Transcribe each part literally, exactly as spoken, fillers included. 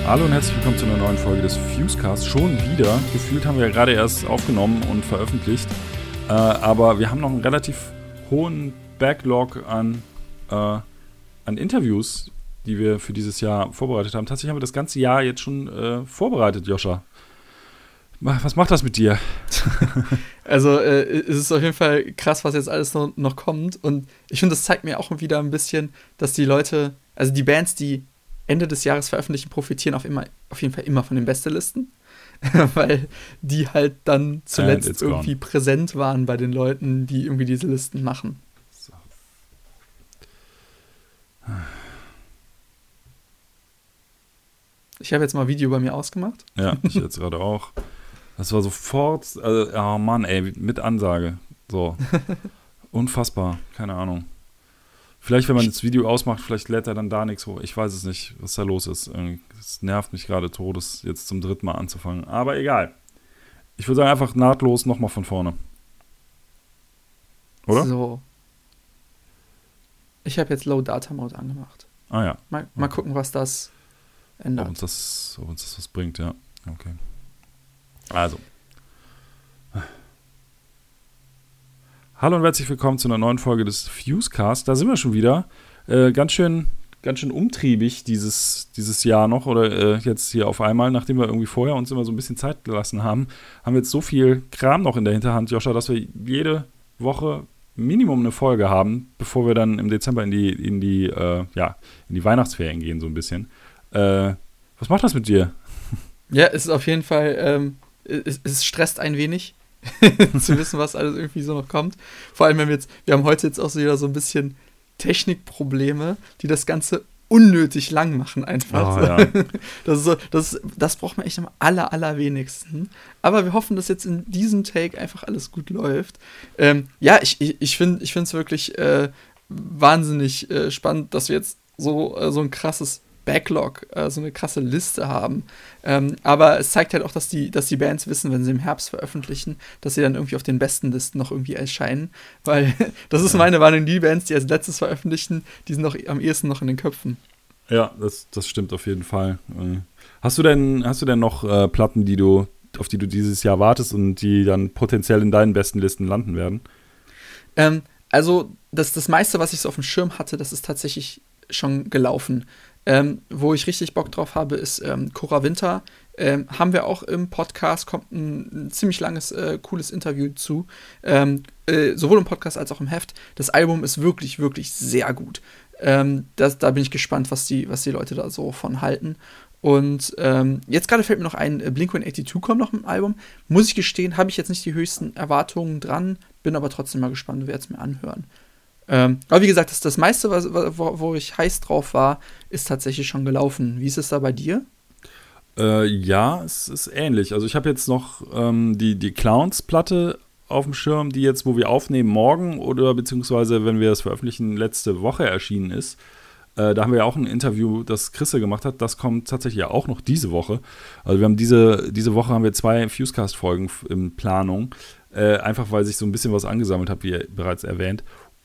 Hallo und herzlich willkommen zu einer neuen Folge des Fusecast. Schon wieder. Gefühlt haben wir ja gerade erst aufgenommen und veröffentlicht. Äh, aber wir haben noch einen relativ hohen Backlog an, äh, an Interviews, die wir für dieses Jahr vorbereitet haben. Tatsächlich haben wir das ganze Jahr jetzt schon äh, vorbereitet, Joscha. Was macht das mit dir? Also äh, es ist auf jeden Fall krass, was jetzt alles noch, noch kommt. Und ich finde, das zeigt mir auch wieder ein bisschen, dass die Leute, also die Bands, die Ende des Jahres veröffentlichen, profitieren auf, immer, auf jeden Fall immer von den Bestelisten. Weil die halt dann zuletzt irgendwie gone. präsent waren bei den Leuten, die irgendwie diese Listen machen. So. Ich habe jetzt mal Video bei mir ausgemacht. Ja, ich jetzt gerade auch. Das war sofort, also, oh Mann, ey, mit Ansage. So. Unfassbar, keine Ahnung. Vielleicht, wenn man das Video ausmacht, vielleicht lädt er dann da nichts hoch. Ich weiß es nicht, was da los ist. Es nervt mich gerade todes, jetzt zum dritten Mal anzufangen. Aber egal. Ich würde sagen, einfach nahtlos nochmal von vorne. Oder? So. Ich habe jetzt Low Data Mode angemacht. Ah ja. Mal, mal gucken, was das ändert. Ob uns das, ob uns das was bringt, ja. Okay. Also. Hallo und herzlich willkommen zu einer neuen Folge des Fusecast. Da sind wir schon wieder. Äh, ganz schön, ganz schön umtriebig dieses, dieses Jahr noch oder äh, jetzt hier auf einmal, nachdem wir irgendwie vorher uns immer so ein bisschen Zeit gelassen haben, haben wir jetzt so viel Kram noch in der Hinterhand, Joscha, dass wir jede Woche Minimum eine Folge haben, bevor wir dann im Dezember in die, in die, äh, ja, in die Weihnachtsferien gehen, so ein bisschen. Äh, was macht das mit dir? Ja, es ist auf jeden Fall, ähm, es, es stresst ein wenig. zu wissen, was alles irgendwie so noch kommt. Vor allem, wenn wir jetzt, wir haben heute jetzt auch so wieder so ein bisschen Technikprobleme, die das Ganze unnötig lang machen einfach. Oh, ja. Das ist so, das, das braucht man echt am aller, allerwenigsten. Aber wir hoffen, dass jetzt in diesem Take einfach alles gut läuft. Ähm, ja, ich, ich, ich finde ich finde es wirklich äh, wahnsinnig äh, spannend, dass wir jetzt so, äh, so ein krasses Backlog, äh, so eine krasse Liste haben. Ähm, aber es zeigt halt auch, dass die, dass die Bands wissen, wenn sie im Herbst veröffentlichen, dass sie dann irgendwie auf den besten Listen noch irgendwie erscheinen. Weil das ist meine Meinung, die Bands, die als letztes veröffentlichen, die sind noch am ehesten noch in den Köpfen. Ja, das, das stimmt auf jeden Fall. Hast du denn, hast du denn noch äh, Platten, die du, auf die du dieses Jahr wartest und die dann potenziell in deinen besten Listen landen werden? Ähm, also das, das meiste, was ich so auf dem Schirm hatte, das ist tatsächlich schon gelaufen. Ähm, wo ich richtig Bock drauf habe, ist ähm, Cora Winter. Ähm, haben wir auch im Podcast, kommt ein, ein ziemlich langes, äh, cooles Interview zu. Ähm, äh, sowohl im Podcast als auch im Heft. Das Album ist wirklich, wirklich sehr gut. Ähm, das, da bin ich gespannt, was die, was die Leute da so von halten. Und ähm, jetzt gerade fällt mir noch ein, äh, Blink one eighty-two kommt noch im Album. Muss ich gestehen, habe ich jetzt nicht die höchsten Erwartungen dran, bin aber trotzdem mal gespannt, werde es mir anhören. Ähm, aber wie gesagt, das, das meiste, was, wo, wo ich heiß drauf war, ist tatsächlich schon gelaufen. Wie ist es da bei dir? Äh, ja, es ist ähnlich. Also ich habe jetzt noch ähm, die, die Clowns-Platte auf dem Schirm, die jetzt, wo wir aufnehmen, morgen oder beziehungsweise, wenn wir das veröffentlichen, letzte Woche erschienen ist. Äh, da haben wir ja auch ein Interview, das Chrisse gemacht hat. Das kommt tatsächlich ja auch noch diese Woche. Also wir haben diese, diese Woche haben wir zwei Fusecast-Folgen in Planung. Äh, einfach, weil sich so ein bisschen was angesammelt hat, wie bereits erwähnt.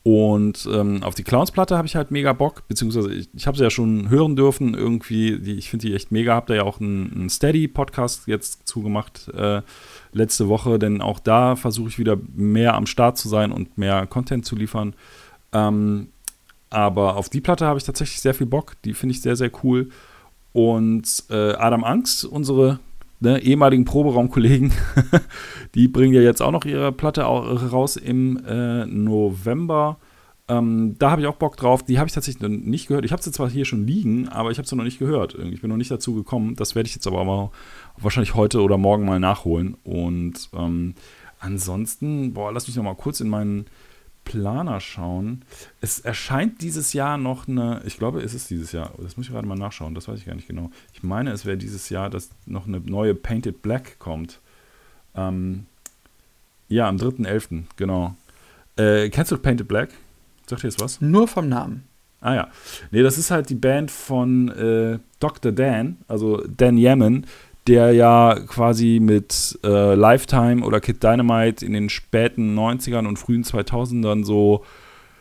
Und ähm, auf die Clowns-Platte habe ich halt mega Bock, beziehungsweise ich, ich habe sie ja schon hören dürfen, irgendwie, die, ich finde die echt mega, habe da ja auch einen, einen Steady-Podcast jetzt zugemacht äh, letzte Woche, denn auch da versuche ich wieder mehr am Start zu sein und mehr Content zu liefern. Ähm, aber auf die Platte habe ich tatsächlich sehr viel Bock, die finde ich sehr, sehr cool. Und äh, Adam Angst, unsere Ne, ehemaligen Proberaumkollegen, die bringen ja jetzt auch noch ihre Platte raus im äh, November. Ähm, da habe ich auch Bock drauf. Die habe ich tatsächlich noch nicht gehört. Ich habe sie zwar hier schon liegen, aber ich habe sie noch nicht gehört. Ich bin noch nicht dazu gekommen. Das werde ich jetzt aber mal wahrscheinlich heute oder morgen mal nachholen. Und ähm, ansonsten, boah, lass mich noch mal kurz in meinen Planer schauen. Es erscheint dieses Jahr noch eine, ich glaube, es ist dieses Jahr, das muss ich gerade mal nachschauen, das weiß ich gar nicht genau. Ich meine, es wäre dieses Jahr, dass noch eine neue Painted Black kommt. Ähm, ja, am dritten elften genau. Äh, kennst du Painted Black? Sagt dir jetzt was? Nur vom Namen. Ah ja. Nee, das ist halt die Band von äh, Doktor Dan, also Dan Yemin, der ja quasi mit äh, Lifetime oder Kid Dynamite in den späten neunzigern und frühen zweitausendern so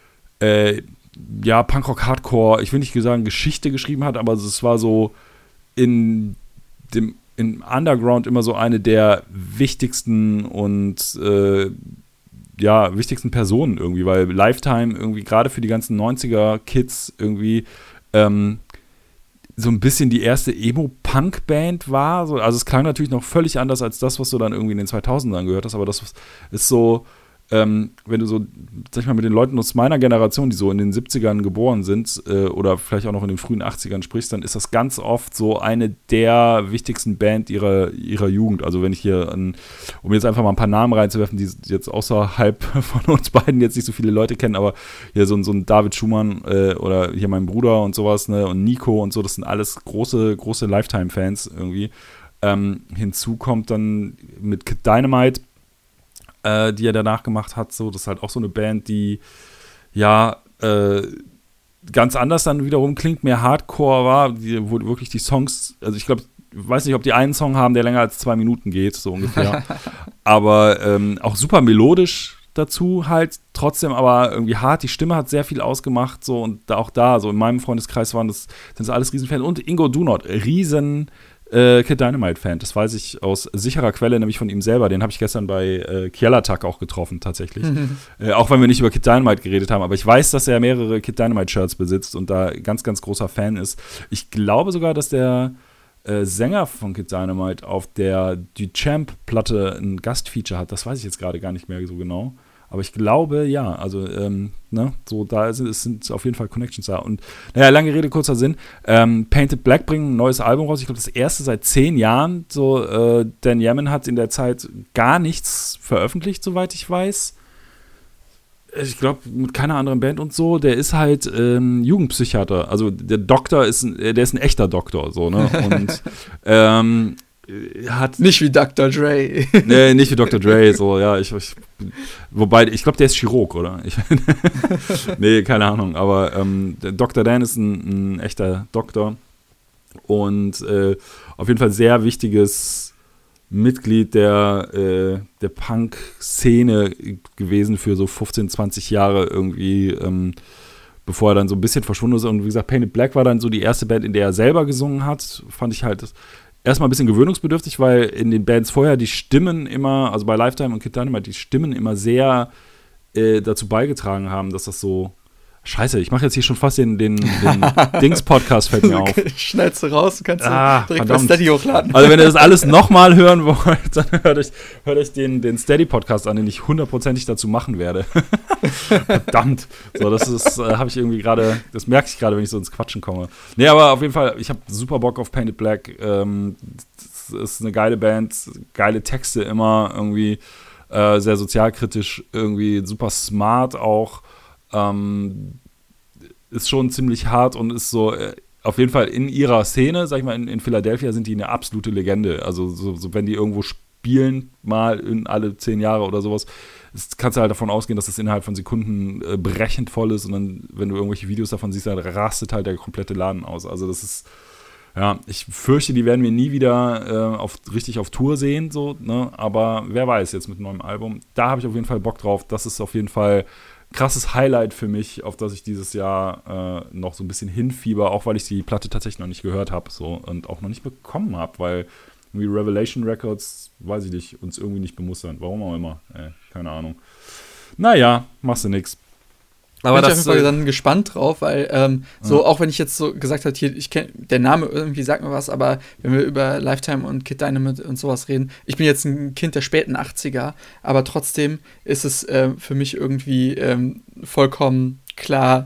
äh, ja, Punkrock, Hardcore, ich will nicht sagen Geschichte geschrieben hat, aber es war so in dem im Underground immer so eine der wichtigsten und äh, ja, wichtigsten Personen irgendwie, weil Lifetime irgendwie gerade für die ganzen neunziger-Kids irgendwie ähm, so ein bisschen die erste Emo-Punk-Band war. So, also es klang natürlich noch völlig anders als das, was du dann irgendwie in den zweitausendern gehört hast, aber das ist so, ähm, wenn du so, sag ich mal, mit den Leuten aus meiner Generation, die so in den siebzigern geboren sind äh, oder vielleicht auch noch in den frühen achtzigern sprichst, dann ist das ganz oft so eine der wichtigsten Band ihrer, ihrer Jugend. Also wenn ich hier, an, um jetzt einfach mal ein paar Namen reinzuwerfen, die jetzt außerhalb von uns beiden jetzt nicht so viele Leute kennen, aber hier so, so ein David Schumann äh, oder hier mein Bruder und sowas, ne, und Nico und so, das sind alles große, große Lifetime-Fans irgendwie. Ähm, hinzu kommt dann mit Kid Dynamite, Äh, die er danach gemacht hat, so, das ist halt auch so eine Band, die ja äh, ganz anders dann wiederum klingt, mehr Hardcore war, die, wo wirklich die Songs, also ich glaube, ich weiß nicht, ob die einen Song haben, der länger als zwei Minuten geht, so ungefähr, aber ähm, auch super melodisch dazu halt, trotzdem aber irgendwie hart, die Stimme hat sehr viel ausgemacht, so, und da auch da, so in meinem Freundeskreis waren das, sind das alles Riesenfans, und Ingo Dunot, riesen Äh, Kid Dynamite-Fan, das weiß ich aus sicherer Quelle, nämlich von ihm selber. Den habe ich gestern bei äh, Kjellertag auch getroffen, tatsächlich. Mhm. Äh, auch wenn wir nicht über Kid Dynamite geredet haben, aber ich weiß, dass er mehrere Kid Dynamite-Shirts besitzt und da ganz, ganz großer Fan ist. Ich glaube sogar, dass der äh, Sänger von Kid Dynamite auf der Duchamp-Platte ein Gastfeature hat. Das weiß ich jetzt gerade gar nicht mehr so genau. Aber ich glaube, ja, also, ähm, ne, so, da ist, es sind auf jeden Fall Connections da. Und, naja, lange Rede, kurzer Sinn. Ähm, Painted Black bringen ein neues Album raus. Ich glaube, das erste seit zehn Jahren. So, äh, Dan Yemin hat in der Zeit gar nichts veröffentlicht, soweit ich weiß. Ich glaube, mit keiner anderen Band und so. Der ist halt ähm, Jugendpsychiater. Also, der Doktor ist ein, der ist ein echter Doktor, so, ne? Und, ähm, hat nicht wie Doktor Dre. Nee, nicht wie Doktor Dre, so, ja, ich, ich wobei, ich glaube, der ist Chirurg, oder? Ich, nee, keine Ahnung, aber ähm, der Doktor Dan ist ein, ein echter Doktor und äh, auf jeden Fall sehr wichtiges Mitglied der, äh, der Punk-Szene gewesen für so fünfzehn, zwanzig Jahre irgendwie, ähm, bevor er dann so ein bisschen verschwunden ist. Und wie gesagt, Painted Black war dann so die erste Band, in der er selber gesungen hat, fand ich halt erstmal ein bisschen gewöhnungsbedürftig, weil in den Bands vorher die Stimmen immer, also bei Lifetime und Kid Dynamite, die Stimmen immer sehr äh, dazu beigetragen haben, dass das so, scheiße, ich mache jetzt hier schon fast den, den, den Dings-Podcast, fällt mir auf. Schnellst du raus, du kannst ah, direkt verdammt. bei Steady hochladen. Also wenn ihr das alles nochmal hören wollt, dann hört euch, hört euch den, den Steady-Podcast an, den ich hundertprozentig dazu machen werde. Verdammt. So, das ist, äh, habe ich irgendwie gerade, das merke ich gerade, wenn ich so ins Quatschen komme. Nee, aber auf jeden Fall, ich habe super Bock auf Painted Black. Ähm, das ist eine geile Band, geile Texte immer, irgendwie äh, sehr sozialkritisch, irgendwie super smart auch. Ähm, ist schon ziemlich hart und ist so äh, auf jeden Fall in ihrer Szene, sag ich mal, in, in Philadelphia sind die eine absolute Legende. Also so, so wenn die irgendwo spielen, mal in alle zehn Jahre oder sowas, ist, kannst du halt davon ausgehen, dass das innerhalb von Sekunden äh, brechend voll ist und dann, wenn du irgendwelche Videos davon siehst, dann rastet halt der komplette Laden aus. Also das ist, ja, ich fürchte, die werden wir nie wieder äh, auf, richtig auf Tour sehen, so, ne? Aber wer weiß jetzt mit einem neuen Album. Da habe ich auf jeden Fall Bock drauf. Das ist auf jeden Fall krasses Highlight für mich, auf das ich dieses Jahr äh, noch so ein bisschen hinfieber, auch weil ich die Platte tatsächlich noch nicht gehört habe so, und auch noch nicht bekommen habe, weil irgendwie Revelation Records, weiß ich nicht, uns irgendwie nicht bemustern. Warum auch immer. Ey, keine Ahnung. Naja, machst du nix. Aber bin ich auf jeden Fall äh, dann gespannt drauf, weil ähm, so, ja. Auch wenn ich jetzt so gesagt habe, hier, ich kenn, der Name irgendwie sagt mir was, aber wenn wir über Lifetime und Kid Dynamite und sowas reden, ich bin jetzt ein Kind der späten achtziger, aber trotzdem ist es äh, für mich irgendwie ähm, vollkommen klar,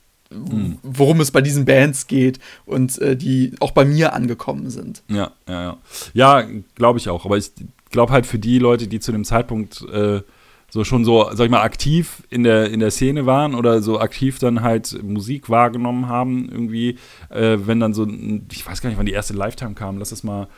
mhm. worum es bei diesen Bands geht und äh, die auch bei mir angekommen sind. Ja, ja, ja. Ja, glaube ich auch, aber ich glaube halt für die Leute, die zu dem Zeitpunkt äh, so schon so, sag ich mal, aktiv in der, in der Szene waren oder so aktiv dann halt Musik wahrgenommen haben irgendwie, äh, wenn dann so, ich weiß gar nicht, wann die erste Lifetime kam, lass es mal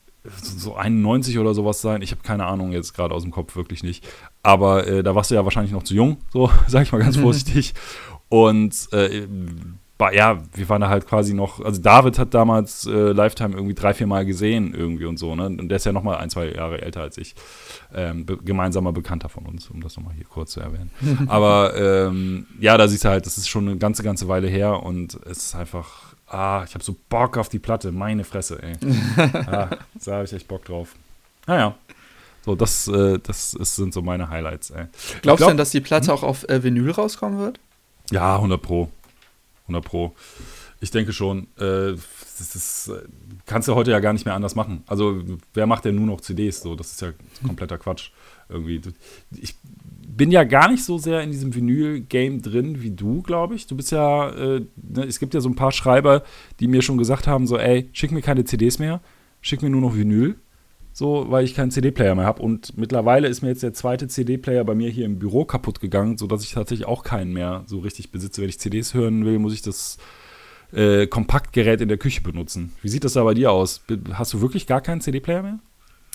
so einundneunzig oder sowas sein, ich habe keine Ahnung jetzt gerade aus dem Kopf, wirklich nicht, aber äh, da warst du ja wahrscheinlich noch zu jung, so, sag ich mal ganz vorsichtig, und äh, ja, wir waren da halt quasi noch, also David hat damals äh, Lifetime irgendwie drei, vier Mal gesehen irgendwie und so, ne? Und der ist ja nochmal ein, zwei Jahre älter als ich. Ähm, be- gemeinsamer Bekannter von uns, um das nochmal hier kurz zu erwähnen. Aber ähm, ja, da siehst du halt, das ist schon eine ganze, ganze Weile her und es ist einfach ah, ich habe so Bock auf die Platte, meine Fresse, ey. ah, da habe ich echt Bock drauf. Naja, so, das, äh, das ist, sind so meine Highlights, ey. Glaubst glaub, du denn, dass die Platte hm? auch auf äh, Vinyl rauskommen wird? Ja, hundert Pro. hundert Pro. Ich denke schon. Äh, das ist, kannst du heute ja gar nicht mehr anders machen. Also, wer macht denn nur noch C Ds? So, das ist ja kompletter Quatsch. Irgendwie. Ich bin ja gar nicht so sehr in diesem Vinyl-Game drin wie du, glaube ich. Du bist ja, äh, ne, es gibt ja so ein paar Schreiber, die mir schon gesagt haben, so, ey, schick mir keine C Ds mehr, schick mir nur noch Vinyl. So, weil ich keinen C D-Player mehr habe. Und mittlerweile ist mir jetzt der zweite C D-Player bei mir hier im Büro kaputt gegangen, sodass ich tatsächlich auch keinen mehr so richtig besitze. Wenn ich C Ds hören will, muss ich das äh, Kompaktgerät in der Küche benutzen. Wie sieht das da bei dir aus? Hast du wirklich gar keinen C D-Player mehr?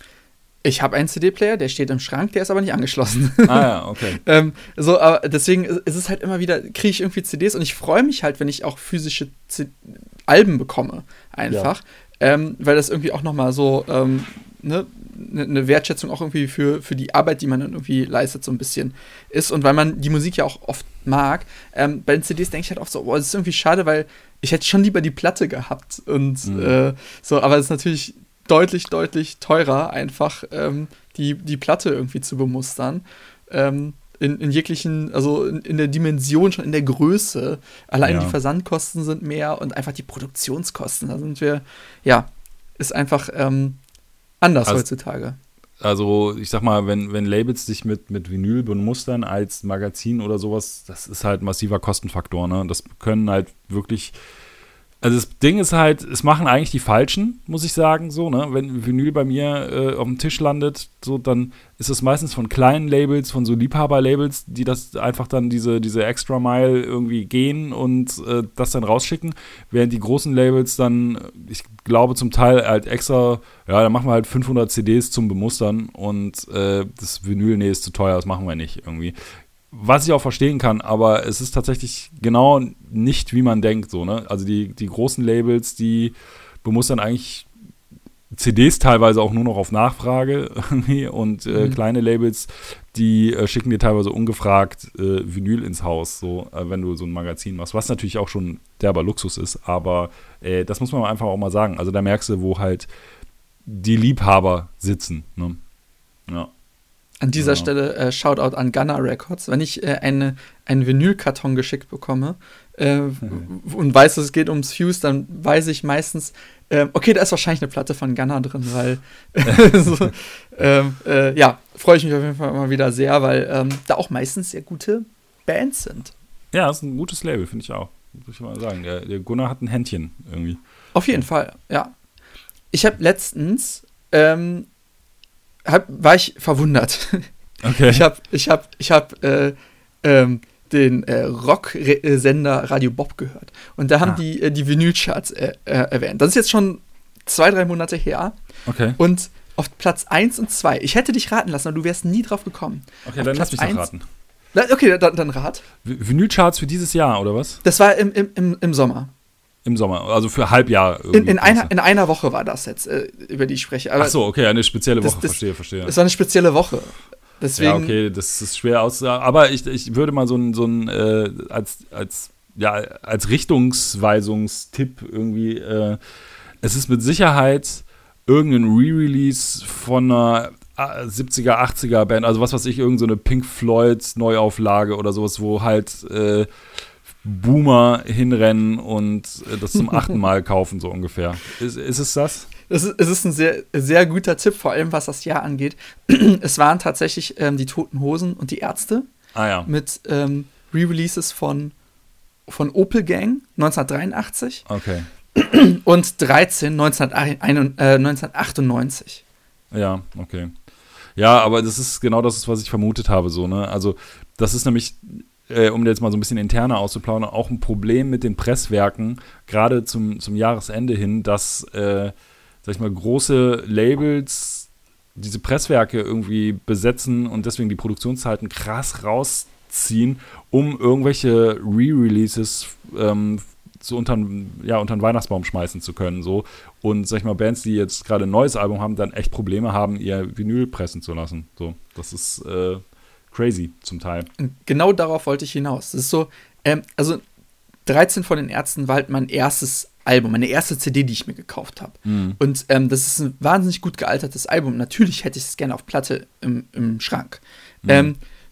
Ich habe einen C D-Player, der steht im Schrank, der ist aber nicht angeschlossen. Ah ja, okay. ähm, so, aber deswegen ist es halt immer wieder, kriege ich irgendwie C Ds und ich freue mich halt, wenn ich auch physische C- Alben bekomme, einfach. Ja. Ähm, weil das irgendwie auch nochmal so ähm, ne, eine Wertschätzung auch irgendwie für, für die Arbeit, die man dann irgendwie leistet, so ein bisschen ist. Und weil man die Musik ja auch oft mag, ähm, bei den C Ds denke ich halt oft so, boah, das ist irgendwie schade, weil ich hätte schon lieber die Platte gehabt. Und mhm. äh, so, aber es ist natürlich deutlich, deutlich teurer, einfach ähm, die, die Platte irgendwie zu bemustern. Ähm, in, in jeglichen, also in, in der Dimension, schon in der Größe. Allein ja. die Versandkosten sind mehr und einfach die Produktionskosten. Da sind wir, ja, ist einfach ähm, anders also, heutzutage. Also, ich sag mal, wenn, wenn Labels sich mit, mit Vinyl bemustern als Magazin oder sowas, das ist halt ein massiver Kostenfaktor, ne? Das können halt wirklich. Also das Ding ist halt, es machen eigentlich die Falschen, muss ich sagen, so, ne? Wenn Vinyl bei mir äh, auf dem Tisch landet, so, dann ist es meistens von kleinen Labels, von so Liebhaber-Labels, die das einfach dann diese, diese Extra Mile irgendwie gehen und äh, das dann rausschicken, während die großen Labels dann, ich glaube zum Teil halt extra, ja, dann machen wir halt fünfhundert C Ds zum Bemustern und äh, das Vinyl, nee, ist zu teuer, das machen wir nicht irgendwie. Was ich auch verstehen kann, aber es ist tatsächlich genau nicht, wie man denkt, so, ne? Also die, die großen Labels, die bemustern eigentlich C Ds teilweise auch nur noch auf Nachfrage irgendwie und äh, mhm. kleine Labels, die äh, schicken dir teilweise ungefragt äh, Vinyl ins Haus, so, äh, wenn du so ein Magazin machst, was natürlich auch schon derber Luxus ist, aber äh, das muss man einfach auch mal sagen. Also da merkst du, wo halt die Liebhaber sitzen, ne? Ja. An dieser ja. Stelle äh, Shoutout an Gunner Records. Wenn ich äh, eine, einen Vinylkarton geschickt bekomme äh, mhm. und weiß, dass es geht ums Fuse, dann weiß ich meistens, äh, okay, da ist wahrscheinlich eine Platte von Gunner drin, weil so, ähm, äh, ja, freue ich mich auf jeden Fall immer wieder sehr, weil ähm, da auch meistens sehr gute Bands sind. Ja, das ist ein gutes Label, finde ich auch. Muss ich mal sagen. Der, der Gunnar hat ein Händchen irgendwie. Auf jeden Fall, ja. Ich habe letztens ähm, Hab, war ich verwundert. Okay. Ich habe ich hab, ich hab, äh, ähm, den äh, Rock-Sender Radio Bob gehört. Und da haben ah. die äh, die Vinylcharts äh, äh, erwähnt. Das ist jetzt schon zwei, drei Monate her. Okay. Und auf Platz eins und zwei, ich hätte dich raten lassen, aber du wärst nie drauf gekommen. Okay, auf dann Platz lass mich doch raten. Okay, dann, dann rat. Vinylcharts für dieses Jahr, oder was? Das war im, im, im, im Sommer. Im Sommer, also für Halbjahr. In, in, einer, in einer Woche war das jetzt, äh, über die ich spreche. Aber ach so, okay, eine spezielle Woche, das, das, verstehe, verstehe. Es war eine spezielle Woche. Deswegen, ja, okay, das ist schwer auszusagen. Aber ich, ich würde mal so ein, so ein äh, als, als, ja, als Richtungsweisungstipp irgendwie, äh, es ist mit Sicherheit irgendein Re-Release von einer siebziger, achtziger Band, also was weiß ich, irgendeine so Pink Floyd Neuauflage oder sowas, wo halt äh, Boomer hinrennen und äh, das zum achten Mal kaufen, so ungefähr. Ist, ist es das? Es ist, es ist ein sehr, sehr guter Tipp, vor allem was das Jahr angeht. Es waren tatsächlich ähm, die Toten Hosen und die Ärzte ah, ja. mit ähm, Re-Releases von, von Opel Gang neunzehnhundertdreiundachtzig okay. und dreizehn neunzehnhundertachtundneunzig. Ja, okay. Ja, aber das ist genau das, was ich vermutet habe, so, ne? Also, das ist nämlich, äh, um jetzt mal so ein bisschen interner auszuplaudern, auch ein Problem mit den Presswerken, gerade zum, zum Jahresende hin, dass, äh, sag ich mal, große Labels diese Presswerke irgendwie besetzen und deswegen die Produktionszeiten krass rausziehen, um irgendwelche Re-Releases ähm, so unter, ja, unter den Weihnachtsbaum schmeißen zu können. So. Und, sag ich mal, Bands, die jetzt gerade ein neues Album haben, dann echt Probleme haben, ihr Vinyl pressen zu lassen. So. Das ist äh, crazy zum Teil. Genau darauf wollte ich hinaus. Das ist so, ähm, also dreizehn von den Ärzten war halt mein erstes Album, meine erste C D, die ich mir gekauft habe. Mhm. Und ähm, das ist ein wahnsinnig gut gealtertes Album. Natürlich hätte ich es gerne auf Platte im, im Schrank. Mhm. Ähm,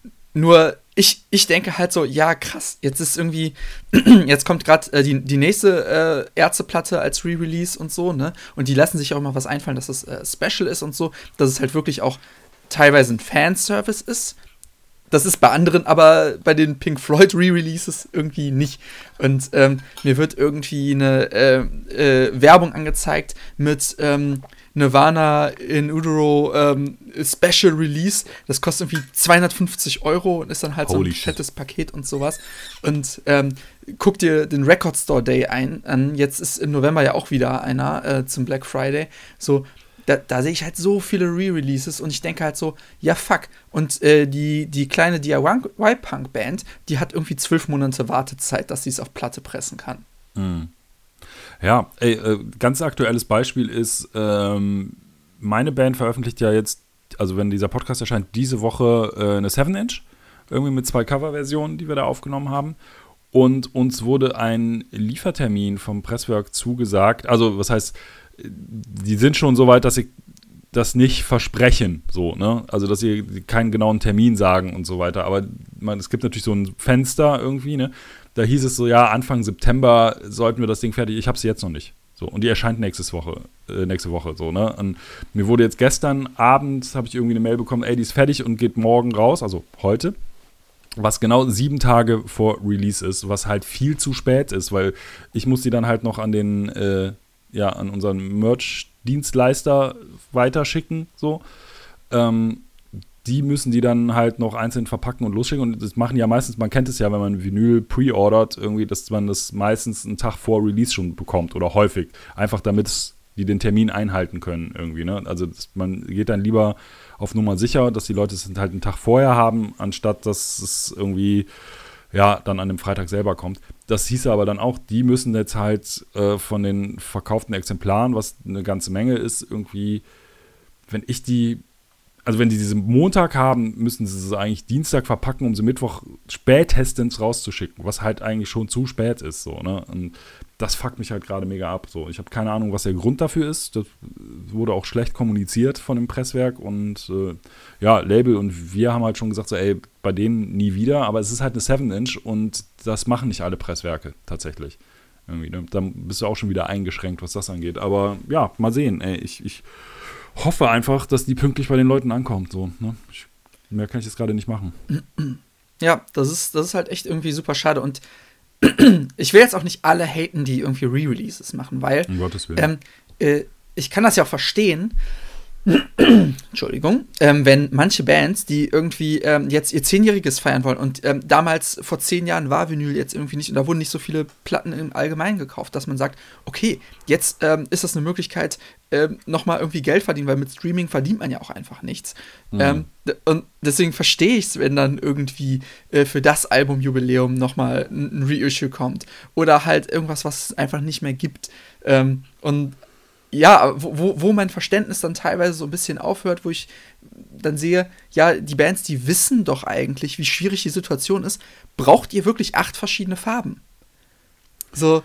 nur ich, ich denke halt so, ja krass, jetzt ist irgendwie, jetzt kommt gerade äh, die, die nächste äh, Ärzteplatte als Re-Release und so, ne? Und die lassen sich auch immer was einfallen, dass das äh, Special ist und so, dass es halt wirklich auch teilweise ein Fanservice ist. Das ist bei anderen, aber bei den Pink Floyd Re-Releases irgendwie nicht. Und ähm, mir wird irgendwie eine äh, äh, Werbung angezeigt mit ähm, Nirvana in Utero ähm, Special Release. Das kostet irgendwie zweihundertfünfzig Euro und ist dann halt Holy so ein fettes Paket und sowas. Und ähm, guck dir den Record Store Day ein, an. Jetzt ist im November ja auch wieder einer äh, zum Black Friday. So, Da, da sehe ich halt so viele Re-Releases und ich denke halt so, ja fuck. Und äh, die, die kleine D I Y-Punk-Band, die hat irgendwie zwölf Monate Wartezeit, dass sie es auf Platte pressen kann. Mhm. Ja, ey, äh, ganz aktuelles Beispiel ist, ähm, meine Band veröffentlicht ja jetzt, also wenn dieser Podcast erscheint, diese Woche äh, eine seven inch, irgendwie mit zwei Coverversionen, die wir da aufgenommen haben. Und uns wurde ein Liefertermin vom Presswerk zugesagt, also was heißt, die sind schon so weit, dass sie das nicht versprechen, so, ne? Also, dass sie keinen genauen Termin sagen und so weiter. Aber man, es gibt natürlich so ein Fenster irgendwie, ne? Da hieß es so, ja, Anfang September sollten wir das Ding fertig. Ich habe sie jetzt noch nicht. So, und die erscheint nächste Woche, äh, nächste Woche, so, ne? Und mir wurde jetzt gestern Abend, habe ich irgendwie eine Mail bekommen, ey, die ist fertig und geht morgen raus, also heute. Was genau sieben Tage vor Release ist, was halt viel zu spät ist, weil ich muss die dann halt noch an den, äh, ja, an unseren Merch-Dienstleister weiterschicken, so. Ähm, die müssen die dann halt noch einzeln verpacken und losschicken. Und das machen ja meistens, man kennt es ja, wenn man Vinyl pre-ordert, irgendwie, dass man das meistens einen Tag vor Release schon bekommt oder häufig. Einfach damit die den Termin einhalten können irgendwie, ne? Also das, man geht dann lieber auf Nummer sicher, dass die Leute es halt einen Tag vorher haben, anstatt dass es irgendwie ja, dann an dem Freitag selber kommt. Das hieß aber dann auch, die müssen jetzt halt äh, von den verkauften Exemplaren, was eine ganze Menge ist, irgendwie, wenn ich die, also wenn die diese Montag haben, müssen sie sie eigentlich Dienstag verpacken, um sie Mittwoch spätestens rauszuschicken, was halt eigentlich schon zu spät ist, so, ne? Und das fuckt mich halt gerade mega ab, so. Ich habe keine Ahnung, was der Grund dafür ist. Das wurde auch schlecht kommuniziert von dem Presswerk und äh, ja, Label und wir haben halt schon gesagt, so, ey, bei denen nie wieder, aber es ist halt eine seven inch und das machen nicht alle Presswerke tatsächlich. Irgendwie, ne? Dann bist du auch schon wieder eingeschränkt, was das angeht. Aber ja, mal sehen, ey, ich, ich hoffe einfach, dass die pünktlich bei den Leuten ankommt, so, ne? Ich, mehr kann ich jetzt gerade nicht machen. Ja, das ist, das ist halt echt irgendwie super schade und ich will jetzt auch nicht alle haten, die irgendwie Re-Releases machen, weil um Gottes Willen. Ähm, äh, ich kann das ja auch verstehen, Entschuldigung, ähm, wenn manche Bands, die irgendwie ähm, jetzt ihr Zehnjähriges feiern wollen und ähm, damals vor zehn Jahren war Vinyl jetzt irgendwie nicht und da wurden nicht so viele Platten im Allgemeinen gekauft, dass man sagt, okay, jetzt ähm, ist das eine Möglichkeit, ähm, nochmal irgendwie Geld verdienen, weil mit Streaming verdient man ja auch einfach nichts. Mhm. Ähm, d- und deswegen verstehe ich es, wenn dann irgendwie äh, für das Albumjubiläum nochmal ein, ein Reissue kommt oder halt irgendwas, was es einfach nicht mehr gibt. Ähm, und ja, wo, wo mein Verständnis dann teilweise so ein bisschen aufhört, wo ich dann sehe, ja, die Bands, die wissen doch eigentlich, wie schwierig die Situation ist. Braucht ihr wirklich acht verschiedene Farben? So.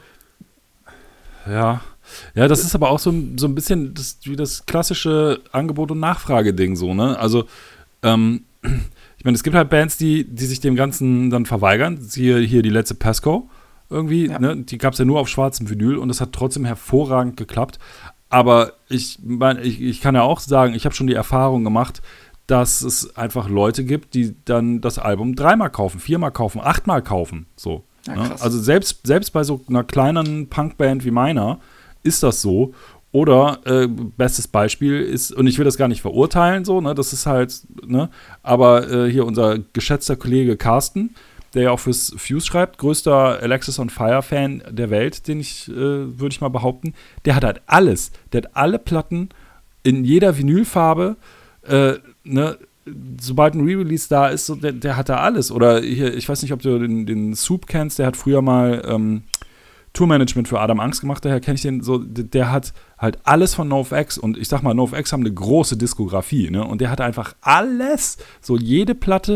Ja, ja, das ist aber auch so, so ein bisschen das, wie das klassische Angebot- und Nachfrage-Ding so, ne? Also, ähm, ich meine, es gibt halt Bands, die, die sich dem Ganzen dann verweigern. Hier, hier die letzte Pasco irgendwie, ja. Ne? Die gab es ja nur auf schwarzem Vinyl und das hat trotzdem hervorragend geklappt. Aber ich meine, ich, ich kann ja auch sagen, ich habe schon die Erfahrung gemacht, dass es einfach Leute gibt, die dann das Album dreimal kaufen, viermal kaufen, achtmal kaufen. So, ja, ne? Also selbst, selbst bei so einer kleinen Punkband wie meiner ist das so. Oder äh, bestes Beispiel ist, und ich will das gar nicht verurteilen, so, ne, das ist halt, ne, aber äh, hier unser geschätzter Kollege Carsten, der ja auch fürs Fuse schreibt, größter Alexis on Fire-Fan der Welt, den ich, äh, würde ich mal behaupten, der hat halt alles. Der hat alle Platten in jeder Vinylfarbe, äh, ne, sobald ein Re-Release da ist, so, der, der hat da alles. Oder hier, ich weiß nicht, ob du den, den Soup kennst, der hat früher mal ähm, Tourmanagement für Adam Angst gemacht, daher kenne ich den so, der, der hat halt alles von NoFX und ich sag mal, NoFX haben eine große Diskografie, ne, und der hat einfach alles, so jede Platte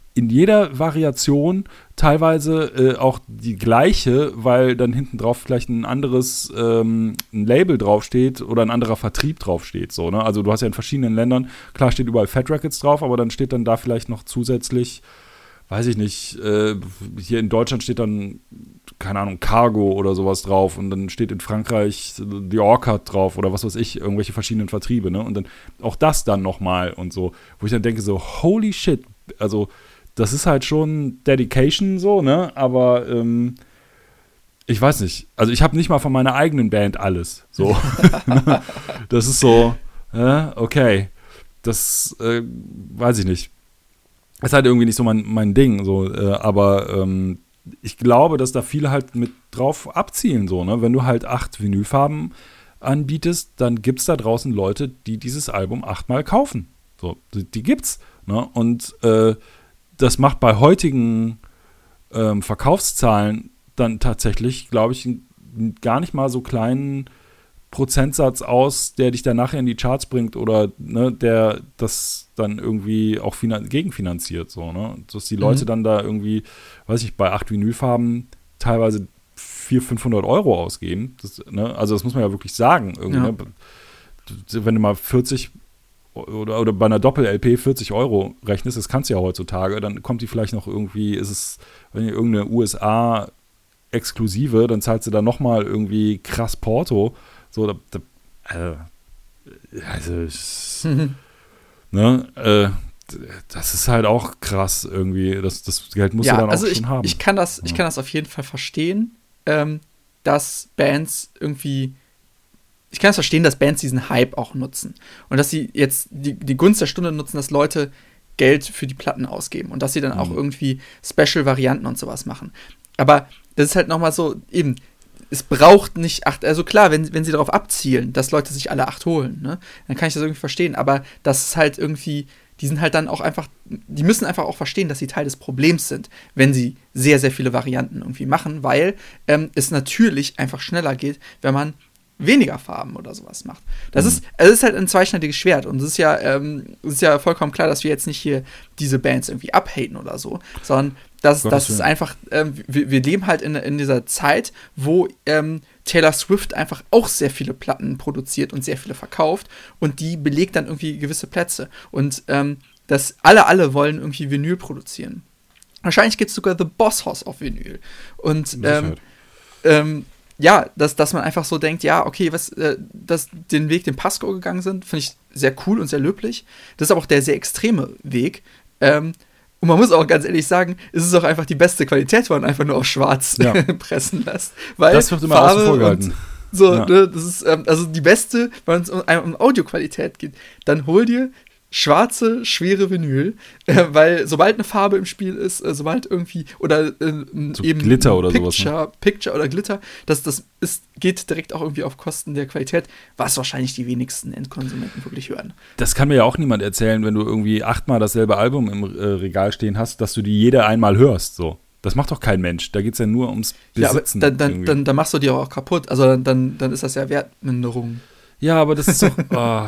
in jeder Variation teilweise äh, auch die gleiche, weil dann hinten drauf vielleicht ein anderes ähm, ein Label draufsteht oder ein anderer Vertrieb draufsteht. So, ne? Also du hast ja in verschiedenen Ländern, klar steht überall Fat Rackets drauf, aber dann steht dann da vielleicht noch zusätzlich, weiß ich nicht, äh, hier in Deutschland steht dann, keine Ahnung, Cargo oder sowas drauf und dann steht in Frankreich The Orchard drauf oder was weiß ich, irgendwelche verschiedenen Vertriebe, ne? Und dann auch das dann nochmal und so, wo ich dann denke so, holy shit, also das ist halt schon Dedication so, ne? Aber ähm, ich weiß nicht. Also ich habe nicht mal von meiner eigenen Band alles. So. Das ist so, äh, okay. Das äh, weiß ich nicht. Ist halt irgendwie nicht so mein, mein Ding. So, äh, aber ähm, ich glaube, dass da viele halt mit drauf abzielen. So, ne? Wenn du halt acht Vinylfarben anbietest, dann gibt es da draußen Leute, die dieses Album achtmal kaufen. So, die, die gibt's. Ne? Und äh, das macht bei heutigen ähm, Verkaufszahlen dann tatsächlich, glaube ich, einen gar nicht mal so kleinen Prozentsatz aus, der dich dann nachher in die Charts bringt oder ne, der das dann irgendwie auch finan- gegenfinanziert. So, ne? Dass die Leute mhm. dann da irgendwie, weiß ich, bei acht Vinylfarben teilweise vierhundert, fünfhundert Euro ausgeben. Das, ne? Also das muss man ja wirklich sagen. Irgendwie, ja. Ne? Wenn du mal vierzig Oder, oder bei einer Doppel-L P vierzig Euro rechnest, das kannst du ja heutzutage, dann kommt die vielleicht noch irgendwie, ist es, wenn ihr irgendeine U S A-Exklusive, dann zahlst du da nochmal irgendwie krass Porto. So, da, da, also, also mhm. ne, äh, das ist halt auch krass irgendwie, das, das Geld musst ja, du dann also auch ich, schon haben. Ich kann das, ja. ich kann das auf jeden Fall verstehen, ähm, dass Bands irgendwie Ich kann es verstehen, dass Bands diesen Hype auch nutzen. Und dass sie jetzt die, die Gunst der Stunde nutzen, dass Leute Geld für die Platten ausgeben. Und dass sie dann mhm. auch irgendwie Special-Varianten und sowas machen. Aber das ist halt nochmal so, eben, es braucht nicht acht, also klar, wenn, wenn sie darauf abzielen, dass Leute sich alle acht holen, ne, dann kann ich das irgendwie verstehen. Aber das ist halt irgendwie, die sind halt dann auch einfach, die müssen einfach auch verstehen, dass sie Teil des Problems sind, wenn sie sehr, sehr viele Varianten irgendwie machen, weil ähm, es natürlich einfach schneller geht, wenn man weniger Farben oder sowas macht. Das mhm. ist, es ist halt ein zweischneidiges Schwert und es ist ja, ähm, es ist ja vollkommen klar, dass wir jetzt nicht hier diese Bands irgendwie abhaten oder so, sondern dass das ist einfach, ähm, wir, wir leben halt in, in dieser Zeit, wo ähm, Taylor Swift einfach auch sehr viele Platten produziert und sehr viele verkauft und die belegt dann irgendwie gewisse Plätze und ähm, das alle, alle wollen irgendwie Vinyl produzieren. Wahrscheinlich gibt es sogar The Boss Hoss auf Vinyl und ähm, ähm, ja, dass, dass man einfach so denkt, ja, okay, was, äh, dass den Weg, den Pasco gegangen sind, finde ich sehr cool und sehr löblich. Das ist aber auch der sehr extreme Weg. Ähm, und man muss auch ganz ehrlich sagen, es ist auch einfach die beste Qualität, wenn man einfach nur auf schwarz ja. pressen lässt. Weil das wird immer Farbe außen vor gehalten. So, ja. ne, das ist ähm, also die beste, wenn es um, um Audioqualität geht, dann hol dir schwarze, schwere Vinyl, äh, weil sobald eine Farbe im Spiel ist, äh, sobald irgendwie, oder äh, so eben Glitter oder Picture, sowas. Ne? Picture oder Glitter, das, das ist, geht direkt auch irgendwie auf Kosten der Qualität, was wahrscheinlich die wenigsten Endkonsumenten wirklich hören. Das kann mir ja auch niemand erzählen, wenn du irgendwie achtmal dasselbe Album im äh, Regal stehen hast, dass du die jede einmal hörst, so. Das macht doch kein Mensch. Da geht es ja nur ums Besitzen. Ja, aber dann, dann, dann, dann machst du die auch kaputt. Also dann, dann, dann ist das ja Wertminderung. Ja, aber das ist doch... Oh.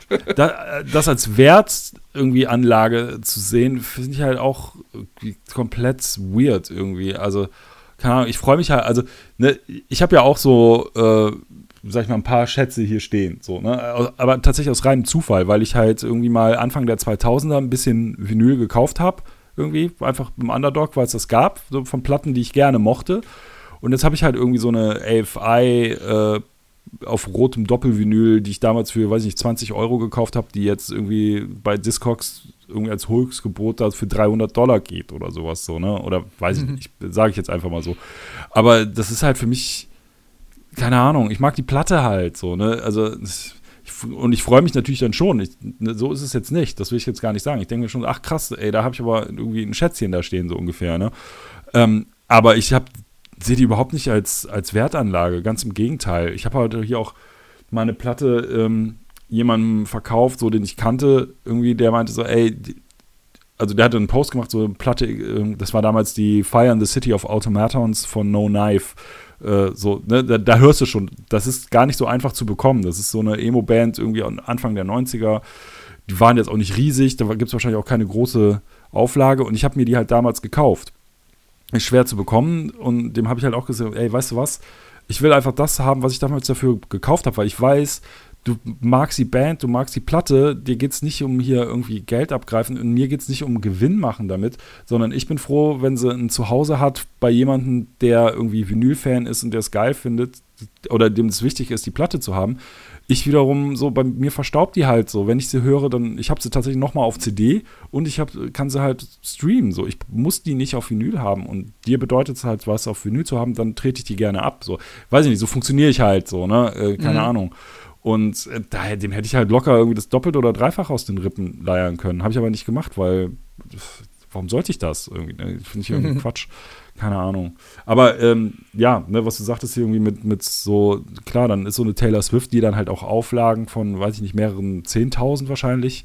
Da, das als Wert irgendwie Anlage zu sehen, finde ich halt auch komplett weird irgendwie. Also, keine Ahnung, ich freue mich halt, also, ne, ich habe ja auch so, äh, sag ich mal, ein paar Schätze hier stehen, so, ne, aber tatsächlich aus reinem Zufall, weil ich halt irgendwie mal Anfang der zweitausender ein bisschen Vinyl gekauft habe, irgendwie, einfach im Underdog, weil es das gab, so von Platten, die ich gerne mochte. Und jetzt habe ich halt irgendwie so eine A F I, äh, auf rotem Doppelvinyl, die ich damals für, weiß ich nicht, zwanzig Euro gekauft habe, die jetzt irgendwie bei Discogs irgendwie als Höchstgebot da für dreihundert Dollar geht oder sowas so, ne? Oder weiß ich nicht, sage ich jetzt einfach mal so. Aber das ist halt für mich, keine Ahnung, ich mag die Platte halt so, ne? Also, ich, und ich freue mich natürlich dann schon. Ich, ne, so ist es jetzt nicht, das will ich jetzt gar nicht sagen. Ich denke mir schon, ach krass, ey, da habe ich aber irgendwie ein Schätzchen da stehen, so ungefähr, ne? Ähm, aber ich habe sehe die überhaupt nicht als, als Wertanlage, ganz im Gegenteil. Ich habe heute hier auch meine Platte ähm, jemandem verkauft, so den ich kannte, irgendwie, der meinte so, ey, die, also der hatte einen Post gemacht, so eine Platte, äh, das war damals die Fire in the City of Automatons von No Knife. Äh, so, ne, da, da hörst du schon, das ist gar nicht so einfach zu bekommen. Das ist so eine Emo-Band irgendwie Anfang der neunziger. Die waren jetzt auch nicht riesig, da gibt es wahrscheinlich auch keine große Auflage und ich habe mir die halt damals gekauft. Ist schwer zu bekommen und dem habe ich halt auch gesagt, ey, weißt du was, ich will einfach das haben, was ich damals dafür gekauft habe, weil ich weiß, du magst die Band, du magst die Platte, dir geht es nicht um hier irgendwie Geld abgreifen und mir geht es nicht um Gewinn machen damit, sondern ich bin froh, wenn sie ein Zuhause hat bei jemandem, der irgendwie Vinyl-Fan ist und der es geil findet oder dem es wichtig ist, die Platte zu haben. Ich wiederum so, bei mir verstaubt die halt so, wenn ich sie höre, dann, ich habe sie tatsächlich nochmal auf C D und ich hab, kann sie halt streamen, so, ich muss die nicht auf Vinyl haben und dir bedeutet es halt was auf Vinyl zu haben, dann trete ich die gerne ab, so, weiß ich nicht, so funktioniere ich halt so, ne, äh, keine mhm. Ahnung. Und äh, daher, dem hätte ich halt locker irgendwie das Doppelt- oder Dreifach aus den Rippen leiern können. Habe ich aber nicht gemacht, weil warum sollte ich das irgendwie? Ne? Finde ich irgendwie mhm. Quatsch. Keine Ahnung. Aber ähm, ja, ne, was du sagtest hier irgendwie mit, mit so, klar, dann ist so eine Taylor Swift, die dann halt auch Auflagen von, weiß ich nicht, mehreren zehntausend wahrscheinlich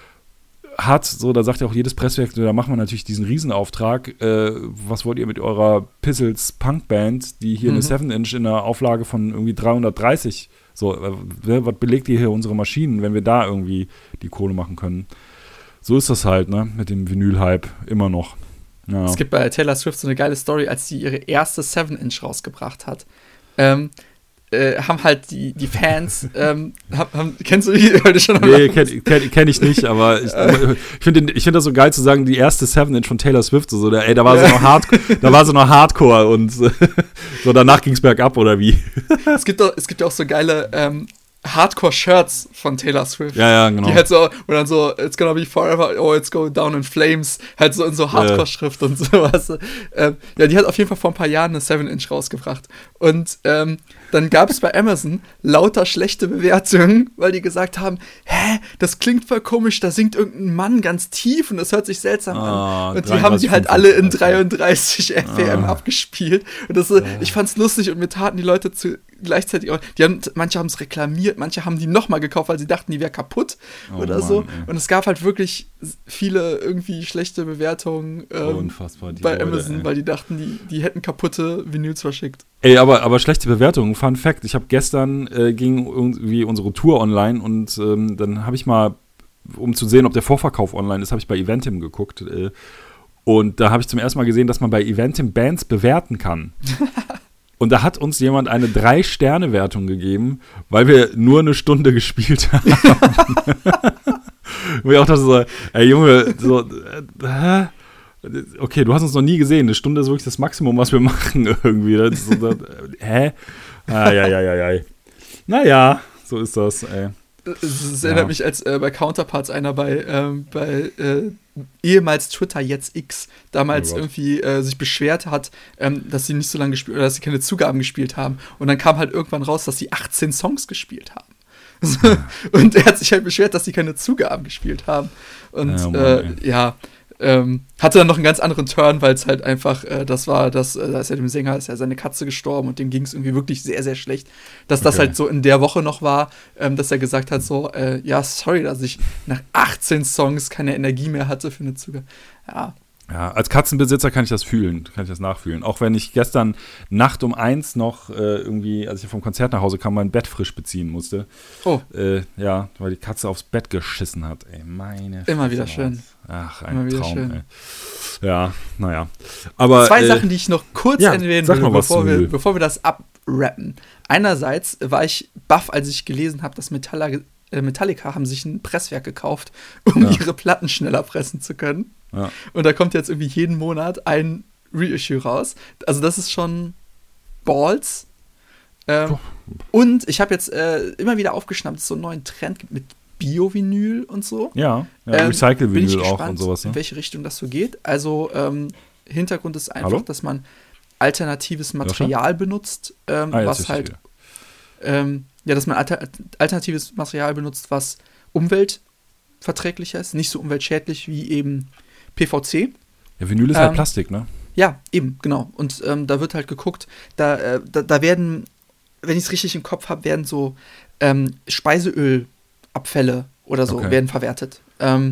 hat. So, da sagt ja auch jedes Presswerk, da machen wir natürlich diesen Riesenauftrag. Äh, was wollt ihr mit eurer Pizzles Punkband, die hier mhm. eine seven Inch in einer Auflage von irgendwie dreihundertdreißig so, äh, was belegt ihr hier unsere Maschinen, wenn wir da irgendwie die Kohle machen können? So ist das halt, ne, mit dem Vinyl-Hype immer noch. Ja. Es gibt bei Taylor Swift so eine geile Story, als sie ihre erste seven Inch rausgebracht hat. Ähm, äh, haben halt die, die Fans, ähm, haben, haben, kennst du die? Schon nee, kenn, kenn, kenn ich nicht, aber ich, ich finde ich find das so geil zu sagen, die erste seven Inch von Taylor Swift, so, ey, da war sie noch Hardcore, da war sie noch Hardcore und so, danach ging's bergab, oder wie? Es gibt doch, es gibt ja auch so geile ähm, Hardcore-Shirts von Taylor Swift. Ja, ja, genau. Die halt so, und dann so, it's gonna be forever, oh, it's going down in flames, halt so in so Hardcore-Schrift ja. und sowas. Ähm, ja, die hat auf jeden Fall vor ein paar Jahren eine seven Inch rausgebracht. Und ähm, dann gab es bei Amazon lauter schlechte Bewertungen, weil die gesagt haben, hä, das klingt voll komisch, da singt irgendein Mann ganz tief und das hört sich seltsam ah, an. Und die haben die halt alle in dreiunddreißig F P M ah. abgespielt. Und das, ja. ich fand's lustig und mir taten die Leute zu gleichzeitig auch, die haben, manche haben es reklamiert, manche haben die nochmal gekauft, weil sie dachten, die wäre kaputt oh oder Mann, so. Ey. Und es gab halt wirklich viele irgendwie schlechte Bewertungen ähm, Unfassbar, die bei Leute, Amazon, ey. weil die dachten, die, die hätten kaputte Vinyls verschickt. Ey, aber, aber schlechte Bewertungen, Fun Fact, ich habe gestern, äh, ging irgendwie unsere Tour online und ähm, dann habe ich mal, um zu sehen, ob der Vorverkauf online ist, habe ich bei Eventim geguckt äh, und da habe ich zum ersten Mal gesehen, dass man bei Eventim Bands bewerten kann. Und da hat uns jemand eine drei-Sterne-Wertung gegeben, weil wir nur eine Stunde gespielt haben. Und ich auch dachte so, ey Junge, so, äh, okay, du hast uns noch nie gesehen, eine Stunde ist wirklich das Maximum, was wir machen irgendwie. Das ist so, das, hä? Ah, ja, ja, ja, ja. Naja, so ist das, ey. Es erinnert ja. mich, als äh, bei Counterparts einer bei, ähm, bei äh, ehemals Twitter, jetzt X, damals oh irgendwie äh, sich beschwert hat, ähm, dass sie nicht so lange gespielt oder dass sie keine Zugaben gespielt haben. Und dann kam halt irgendwann raus, dass sie achtzehn Songs gespielt haben. Ja. Und er hat sich halt beschwert, dass sie keine Zugaben gespielt haben. Und ja, Mann, äh, ja ähm, hatte dann noch einen ganz anderen Turn, weil es halt einfach, äh, das war, das, äh, da ist ja dem Sänger, ist ja seine Katze gestorben und dem ging es irgendwie wirklich sehr, sehr schlecht. Dass okay. das halt so in der Woche noch war, ähm, dass er gesagt hat, so, äh, ja, sorry, dass ich nach achtzehn Songs keine Energie mehr hatte für eine Zugabe. Ja. Ja, als Katzenbesitzer kann ich das fühlen, kann ich das nachfühlen. Auch wenn ich gestern Nacht um eins noch äh, irgendwie, als ich vom Konzert nach Hause kam, mein Bett frisch beziehen musste. Oh. Äh, ja, weil die Katze aufs Bett geschissen hat. Ey, meine Immer wieder schön. Ach, ein Immer Traum, ey. Ja, naja. Aber, Zwei äh, Sachen, die ich noch kurz ja, erwähnen will, bevor wir, bevor wir das abrappen. Einerseits war ich baff, als ich gelesen habe, dass Metallica, äh, Metallica haben sich ein Presswerk gekauft, um ja. ihre Platten schneller pressen zu können. Ja. Und da kommt jetzt irgendwie jeden Monat ein Reissue raus. Also das ist schon Balls. Ähm, und ich habe jetzt äh, immer wieder aufgeschnappt, dass es so einen neuen Trend gibt mit Bio-Vinyl und so. Ja, ja ähm, Recycle-Vinyl auch und sowas. Ne? In welche Richtung das so geht. Also ähm, Hintergrund ist einfach, Hallo? dass man alternatives Material Joscha? benutzt, ähm, ah, was halt ähm, ja, dass man alter- alternatives Material benutzt, was umweltverträglicher ist, nicht so umweltschädlich wie eben P V C. Ja, Vinyl ist ähm, halt Plastik, ne? Ja, eben, genau. Und ähm, da wird halt geguckt, da, äh, da, da werden, wenn ich es richtig im Kopf habe, werden so ähm, Speiseölabfälle oder so okay. werden verwertet. Ähm,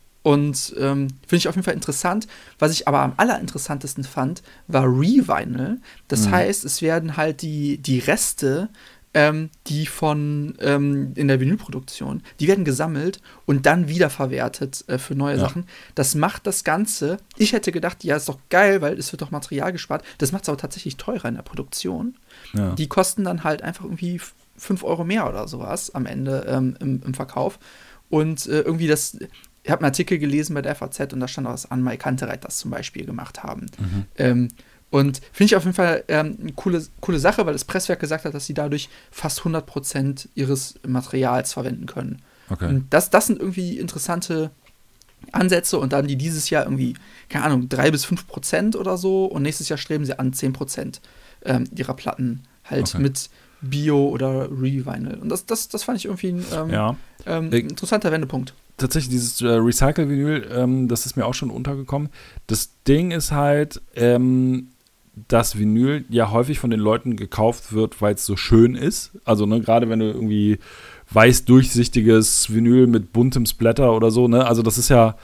und ähm, finde ich auf jeden Fall interessant. Was ich aber am allerinteressantesten fand, war Revinyl. Das mhm. heißt, es werden halt die, die Reste ähm, die von ähm, in der Vinylproduktion, die werden gesammelt und dann wiederverwertet äh, für neue ja. Sachen. Das macht das Ganze, ich hätte gedacht, ja, ist doch geil, weil es wird doch Material gespart. Das macht es aber tatsächlich teurer in der Produktion. Ja. Die kosten dann halt einfach irgendwie fünf Euro mehr oder sowas am Ende ähm, im, im Verkauf. Und äh, irgendwie das, ich habe einen Artikel gelesen bei der F A Z und da stand auch, dass Anne-Mai Kantereit das zum Beispiel gemacht haben. Mhm. Ähm, und finde ich auf jeden Fall ähm, eine coole, coole Sache, weil das Presswerk gesagt hat, dass sie dadurch fast hundert Prozent ihres Materials verwenden können. Okay. Und das, das sind irgendwie interessante Ansätze und dann die dieses Jahr irgendwie, keine Ahnung, drei bis fünf Prozent oder so und nächstes Jahr streben sie an zehn Prozent ähm, ihrer Platten halt okay. mit Bio oder Revinyl. Und das, das, das fand ich irgendwie ein ähm, ja. ähm, interessanter Wendepunkt. Tatsächlich, dieses äh, Recycle-Vinyl, ähm, das ist mir auch schon untergekommen. Das Ding ist halt, ähm, dass Vinyl ja häufig von den Leuten gekauft wird, weil es so schön ist. Also, ne, gerade wenn du irgendwie weiß durchsichtiges Vinyl mit buntem Splatter oder so, ne, also das ist ja,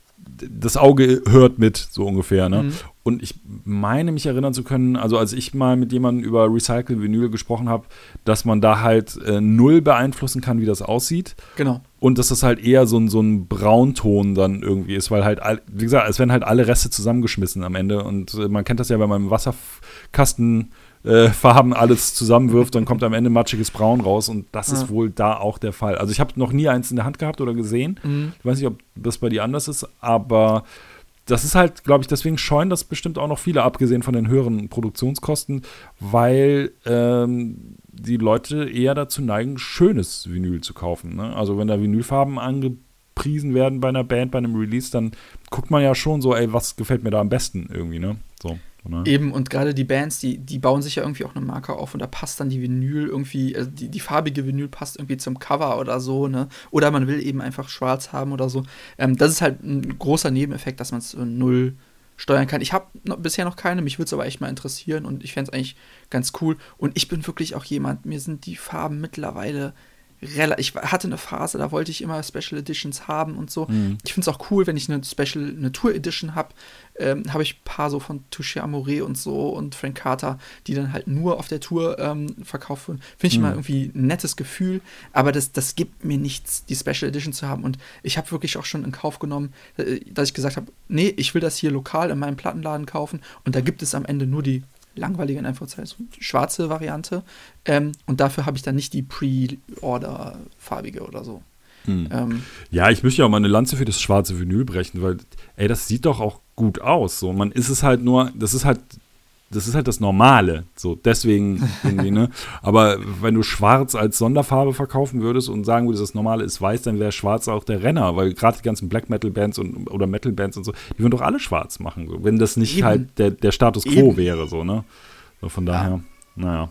das Auge hört mit, so ungefähr, ne? Mhm. Und ich meine, mich erinnern zu können, also als ich mal mit jemandem über Recycle-Vinyl gesprochen habe, dass man da halt äh, null beeinflussen kann, wie das aussieht. Genau. Und dass das halt eher so ein, so ein Braunton dann irgendwie ist, weil halt, wie gesagt, es werden halt alle Reste zusammengeschmissen am Ende. Und äh, man kennt das ja, wenn man im Wasserkasten äh, Farben alles zusammenwirft, dann kommt am Ende matschiges Braun raus. Und das ja. ist wohl da auch der Fall. Also ich habe noch nie eins in der Hand gehabt oder gesehen. Mhm. Ich weiß nicht, ob das bei dir anders ist, aber das ist halt, glaube ich, deswegen scheuen das bestimmt auch noch viele, abgesehen von den höheren Produktionskosten, weil ähm, die Leute eher dazu neigen, schönes Vinyl zu kaufen. Ne? Also wenn da Vinylfarben angepriesen werden bei einer Band, bei einem Release, dann guckt man ja schon so, ey, was gefällt mir da am besten irgendwie, ne? So. Ne? Eben, und gerade die Bands, die, die bauen sich ja irgendwie auch eine Marke auf und da passt dann die Vinyl irgendwie, also die, die farbige Vinyl passt irgendwie zum Cover oder so, ne? Oder man will eben einfach schwarz haben oder so. Ähm, das ist halt ein großer Nebeneffekt, dass man es so null steuern kann. Ich habe bisher noch keine, mich würde es aber echt mal interessieren und ich fände es eigentlich ganz cool. Und ich bin wirklich auch jemand, mir sind die Farben mittlerweile ich hatte eine Phase, da wollte ich immer Special Editions haben und so. Mhm. Ich finde es auch cool, wenn ich eine Special, eine Tour Edition habe, ähm, habe ich ein paar so von Touché Amoré und so und Frank Carter, die dann halt nur auf der Tour ähm, verkauft wurden. Finde ich mhm. immer irgendwie ein nettes Gefühl, aber das, das gibt mir nichts, die Special Edition zu haben. Und ich habe wirklich auch schon in Kauf genommen, dass ich gesagt habe, nee, ich will das hier lokal in meinem Plattenladen kaufen und da gibt es am Ende nur die langweilige, in Anführungszeichen, schwarze Variante. Ähm, und dafür habe ich dann nicht die Pre-Order-farbige oder so. Hm. Ähm, ja, ich möchte ja auch mal eine Lanze für das schwarze Vinyl brechen, weil, ey, das sieht doch auch gut aus. So, man ist es halt nur, das ist halt, das ist halt das Normale. So, deswegen irgendwie, ne? Aber wenn du schwarz als Sonderfarbe verkaufen würdest und sagen würdest, das Normale ist weiß, dann wäre schwarz auch der Renner, weil gerade die ganzen Black Metal Bands und oder Metal Bands und so, die würden doch alle schwarz machen, so, wenn das nicht Eben. halt der, der Status quo Eben. wäre, so, ne? So, von daher, ja. naja.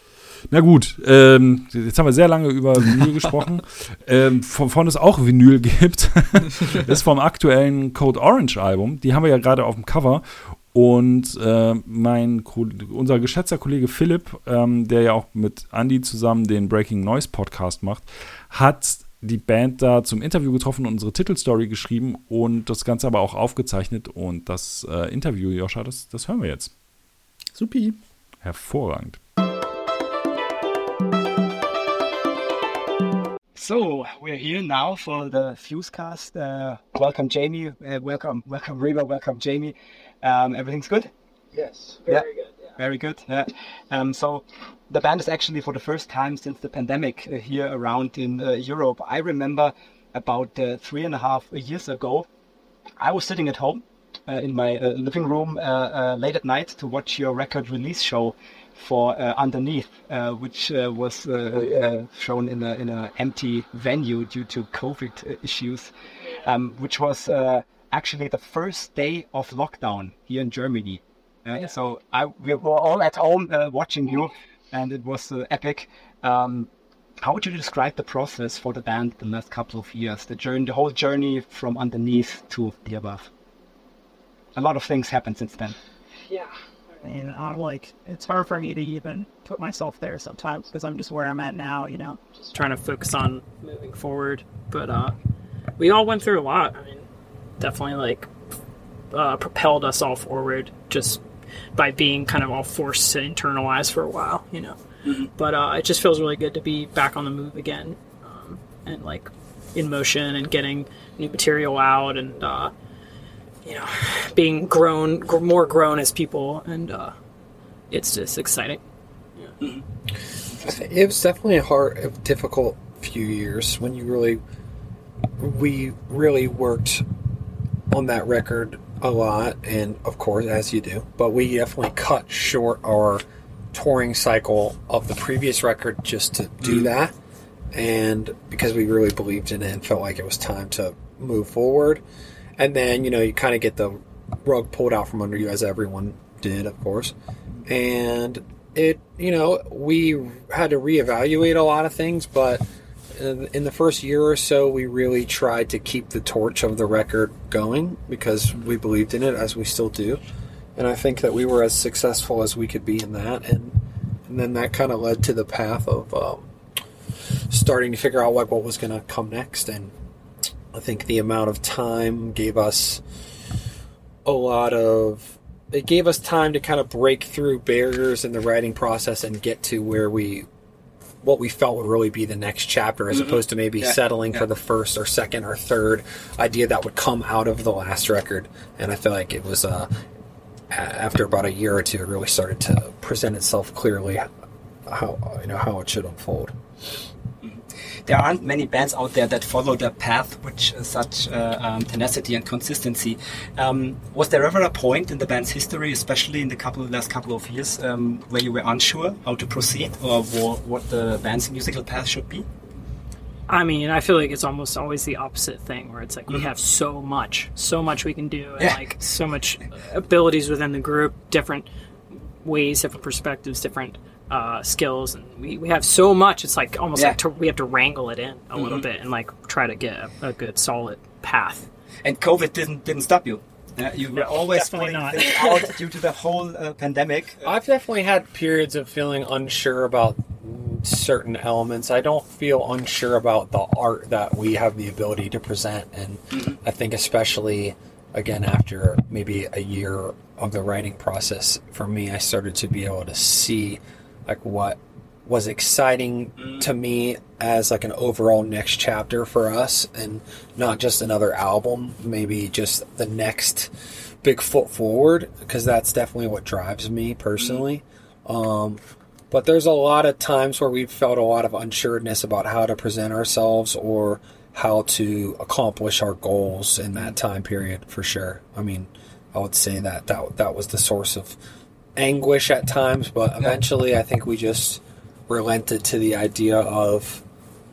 Na gut, ähm, jetzt haben wir sehr lange über Vinyl gesprochen. Ähm, von, von es auch Vinyl gibt, ist vom aktuellen Code Orange Album. Die haben wir ja gerade auf dem Cover. Und äh, mein unser geschätzter Kollege Philipp, ähm, der ja auch mit Andy zusammen den Breaking Noise Podcast macht, hat die Band da zum Interview getroffen und unsere Titelstory geschrieben und das Ganze aber auch aufgezeichnet. Und das äh, Interview, Joscha, das, das hören wir jetzt. Supi. Hervorragend. So we're here now for the Fusecast. Uh, welcome, Jamie. Uh, welcome, welcome, Reba. Welcome, Jamie. Um, everything's good? Yes, very yeah. good. Yeah. Very good. Yeah. Um, so the band is actually for the first time since the pandemic uh, here around in uh, Europe. I remember about uh, three and a half years ago, I was sitting at home uh, in my uh, living room uh, uh, late at night to watch your record release show for uh, Underneath, uh, which uh, was uh, uh, shown in a in a empty venue due to COVID issues, um, which was uh, actually the first day of lockdown here in Germany. Uh, yeah. So I we were all at home uh, watching you, and it was uh, epic. Um, how would you describe the process for the band the last couple of years? The journey, the whole journey from Underneath to the Above. A lot of things happened since then. Yeah. And I'm like, it's hard for me to even put myself there sometimes because I'm just where I'm at now, you know, just trying to focus on moving forward. But uh, we all went through a lot. I mean, definitely like uh, propelled us all forward. Just by being kind of all forced to internalize for a while, you know. Mm-hmm. But uh, it just feels really good to be back on the move again, um, and like in motion and getting new material out, and uh, you know, being grown, gr- more grown as people, and uh, it's just exciting. Yeah. Mm-hmm. It was definitely a hard, a difficult few years when you really, we really worked on that record a lot, and of course, as you do, but we definitely cut short our touring cycle of the previous record just to do mm-hmm. that, and because we really believed in it and felt like it was time to move forward. And then, you know, you kind of get the rug pulled out from under you, as everyone did, of course, and it, you know, we had to reevaluate a lot of things, but in the first year or so, we really tried to keep the torch of the record going because we believed in it, as we still do. And I think that we were as successful as we could be in that. And, and then that kind of led to the path of um, starting to figure out like what was going to come next. And I think the amount of time gave us a lot of... It gave us time to kind of break through barriers in the writing process and get to where we... what we felt would really be the next chapter, as mm-hmm. opposed to maybe yeah, settling yeah. for the first or second or third idea that would come out of the last record. And I feel like it was, uh, after about a year or two, it really started to present itself clearly how, you know, how it should unfold. There aren't many bands out there that follow the path with such uh, um, tenacity and consistency. Um, was there ever a point in the band's history, especially in the couple last couple of years, um, where you were unsure how to proceed or what the band's musical path should be? I mean, I feel like it's almost always the opposite thing, where it's like we have so much, so much we can do, and yeah. like so much abilities within the group, different ways, different perspectives, different Uh, skills, and we, we have so much. It's like almost yeah. like to, we have to wrangle it in a mm-hmm. little bit and like try to get a, a good solid path. And COVID didn't didn't stop you. Uh, you were no, always putting things out due to the whole uh, pandemic. I've definitely had periods of feeling unsure about certain elements. I don't feel unsure about the art that we have the ability to present, and mm-hmm. I think especially again after maybe a year of the writing process, for me, I started to be able to see like what was exciting mm. to me as like an overall next chapter for us, and not just another album, maybe just the next big foot forward, because that's definitely what drives me personally. Mm. Um, but there's a lot of times where we've felt a lot of unsureness about how to present ourselves or how to accomplish our goals in that time period, for sure. I mean, I would say that that, that was the source of anguish at times, but eventually I think we just relented to the idea of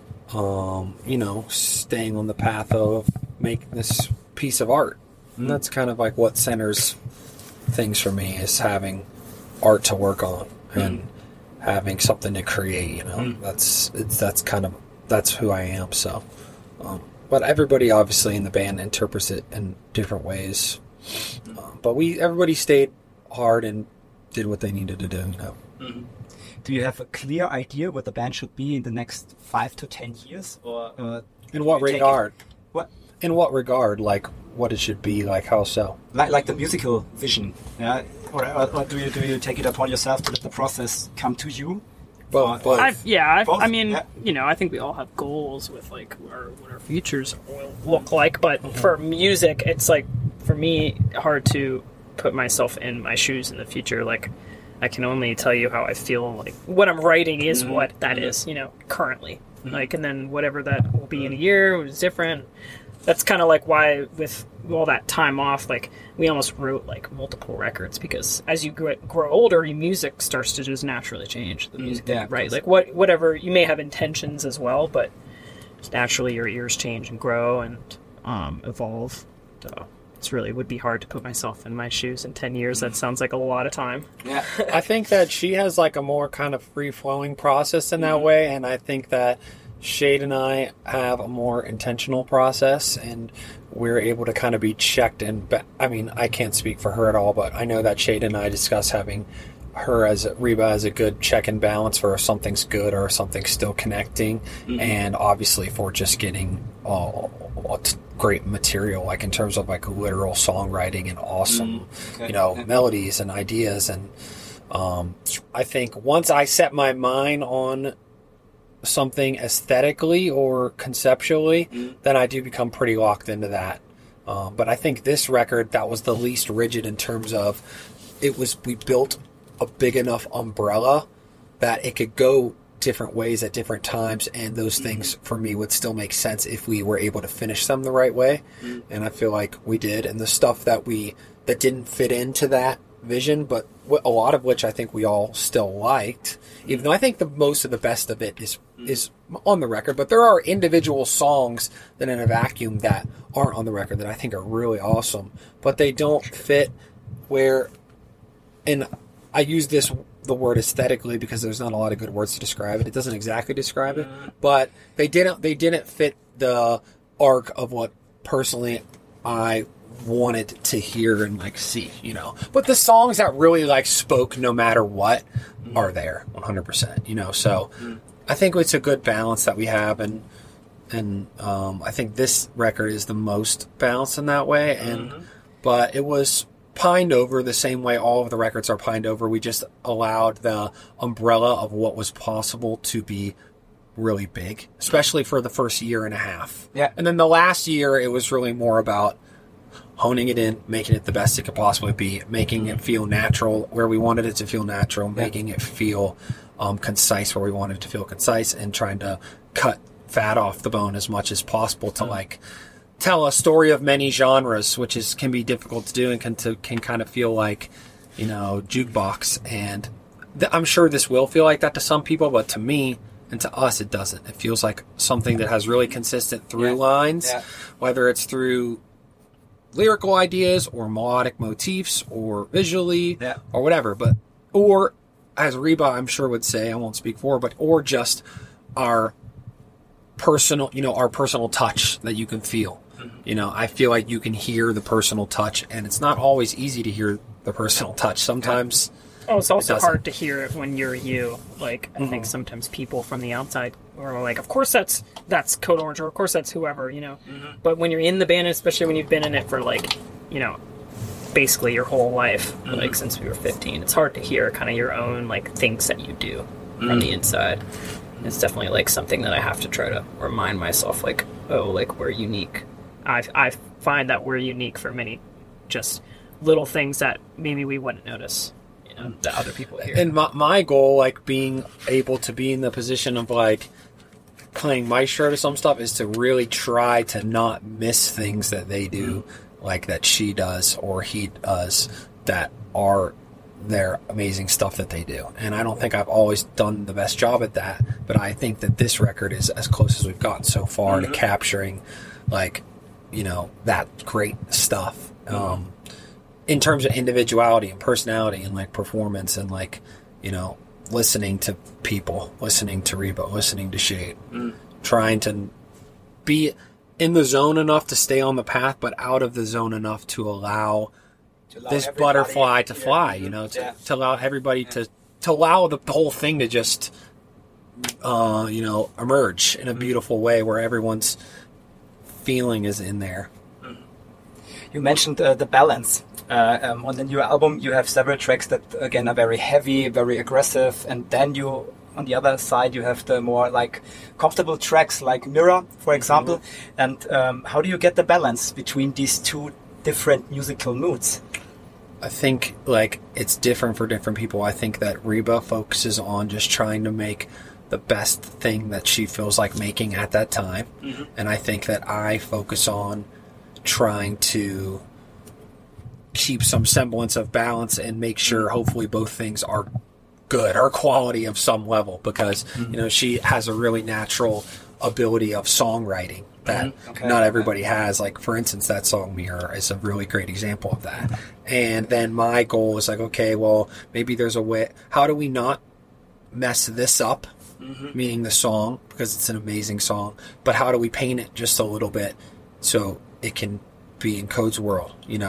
um, you know, staying on the path of making this piece of art. And that's kind of like what centers things for me, is having art to work on and having something to create, you know. That's it's that's kind of that's who I am. So um, but everybody obviously in the band interprets it in different ways. Um, but we everybody stayed hard and did what they needed to do, you know. Mm-hmm. Do you have a clear idea what the band should be in the next five to ten years, or uh, in what regard? What? In what regard? Like what it should be? Like how so? Like like the musical vision, yeah. Or, or, or do you do you take it upon yourself to let the process come to you? Both. both. I've, yeah, I've, I mean, yeah. you know, I think we all have goals with like our, what our futures will look like, but mm-hmm. for music, it's like for me hard to put myself in my shoes in the future. Like I can only tell you how I feel, like what I'm writing is mm-hmm. what that mm-hmm. is, you know, currently. Mm-hmm. Like, and then whatever that will be in a year is different. That's kind of like why with all that time off, like we almost wrote like multiple records, because as you grow, grow older, your music starts to just naturally change. The music, yeah, right? Like what, whatever you may have intentions as well, but just naturally your ears change and grow and um, evolve. So it's really would be hard to put myself in my shoes in ten years. That sounds like a lot of time. Yeah, I think that she has like a more kind of free flowing process in that mm-hmm. way, and I think that Shade and I have a more intentional process, and we're able to kind of be checked and be- I mean, I can't speak for her at all, but I know that Shade and I discuss having her as Reba as a good check and balance for if something's good or if something's still connecting, mm-hmm. and obviously for just getting uh, great material, like in terms of like literal songwriting and awesome, mm-hmm. okay. you know, okay. melodies and ideas. And um, I think once I set my mind on something aesthetically or conceptually, mm-hmm. then I do become pretty locked into that. Um, but I think this record, that was the least rigid in terms of it was, we built a big enough umbrella that it could go different ways at different times, and those mm-hmm. things for me would still make sense if we were able to finish them the right way. Mm-hmm. And I feel like we did. And the stuff that we that didn't fit into that vision, but a lot of which I think we all still liked, mm-hmm. even though I think the most of the best of it is mm-hmm. is on the record. But there are individual songs that in a vacuum that aren't on the record that I think are really awesome, but they don't fit where. And I use this the word aesthetically because there's not a lot of good words to describe it. It doesn't exactly describe it, but they didn't they didn't fit the arc of what personally I wanted to hear and like see, you know. But the songs that really like spoke no matter what are there one hundred percent, you know. So I think it's a good balance that we have, and and um, I think this record is the most balanced in that way. And mm-hmm. but it was pined over the same way all of the records are pined over. We just allowed the umbrella of what was possible to be really big, especially for the first year and a half. Yeah. And then the last year, it was really more about honing it in, making it the best it could possibly be, making it feel natural where we wanted it to feel natural, yeah. making it feel um, concise where we wanted it to feel concise, and trying to cut fat off the bone as much as possible to mm-hmm. like tell a story of many genres, which is can be difficult to do and can to, can kind of feel like, you know, jukebox. And th- I'm sure this will feel like that to some people, but to me and to us, it doesn't. It feels like something that has really consistent through yeah. lines, yeah. whether it's through lyrical ideas or melodic motifs or visually yeah. or whatever. But or as Reba, I'm sure would say, I won't speak for her, but or just our personal, you know, our personal touch that you can feel. You know, I feel like you can hear the personal touch, and it's not always easy to hear the personal touch. Sometimes oh, it's also it hard to hear it when you're you. Like, I mm-hmm. think sometimes people from the outside are like, of course that's that's Code Orange, or of course that's whoever, you know. Mm-hmm. But when you're in the band, especially when you've been in it for like, you know, basically your whole life, mm-hmm. like since we were fifteen, it's hard to hear kind of your own like things that you do mm-hmm. from the inside. It's definitely like something that I have to try to remind myself, like, oh, like we're unique. I I find that we're unique for many just little things that maybe we wouldn't notice, you know, that other people hear. And my, my goal, like being able to be in the position of like playing maestro to some stuff, is to really try to not miss things that they do, like that she does or he does, that are their amazing stuff that they do. And I don't think I've always done the best job at that, but I think that this record is as close as we've gotten so far mm-hmm. to capturing like, you know, that great stuff um, in terms of individuality and personality and like performance and like, you know, listening to people, listening to Reba, listening to Shade, mm. trying to be in the zone enough to stay on the path, but out of the zone enough to allow, to allow this butterfly to yeah. fly, you know, to, yeah. to allow everybody yeah. to, to allow the, the whole thing to just, uh, you know, emerge in a beautiful way where everyone's feeling is in there. You mentioned uh, the balance. Uh, um, on the new album, you have several tracks that, again, are very heavy, very aggressive, and then you, on the other side, you have the more like comfortable tracks, like Mirror, for example. Mm-hmm. And um, how do you get the balance between these two different musical moods? I think like it's different for different people. I think that Reba focuses on just trying to make the best thing that she feels like making at that time. Mm-hmm. And I think that I focus on trying to keep some semblance of balance and make sure hopefully both things are good or quality of some level, because mm-hmm. you know, she has a really natural ability of songwriting that mm-hmm. okay. not everybody has. Like, for instance, that song Mirror is a really great example of that. And then my goal is like, okay, well, maybe there's a way, how do we not mess this up? Mm-hmm. Meaning the song, because it's an amazing song, but how do we paint it just a little bit so it can be in Code's world, you know?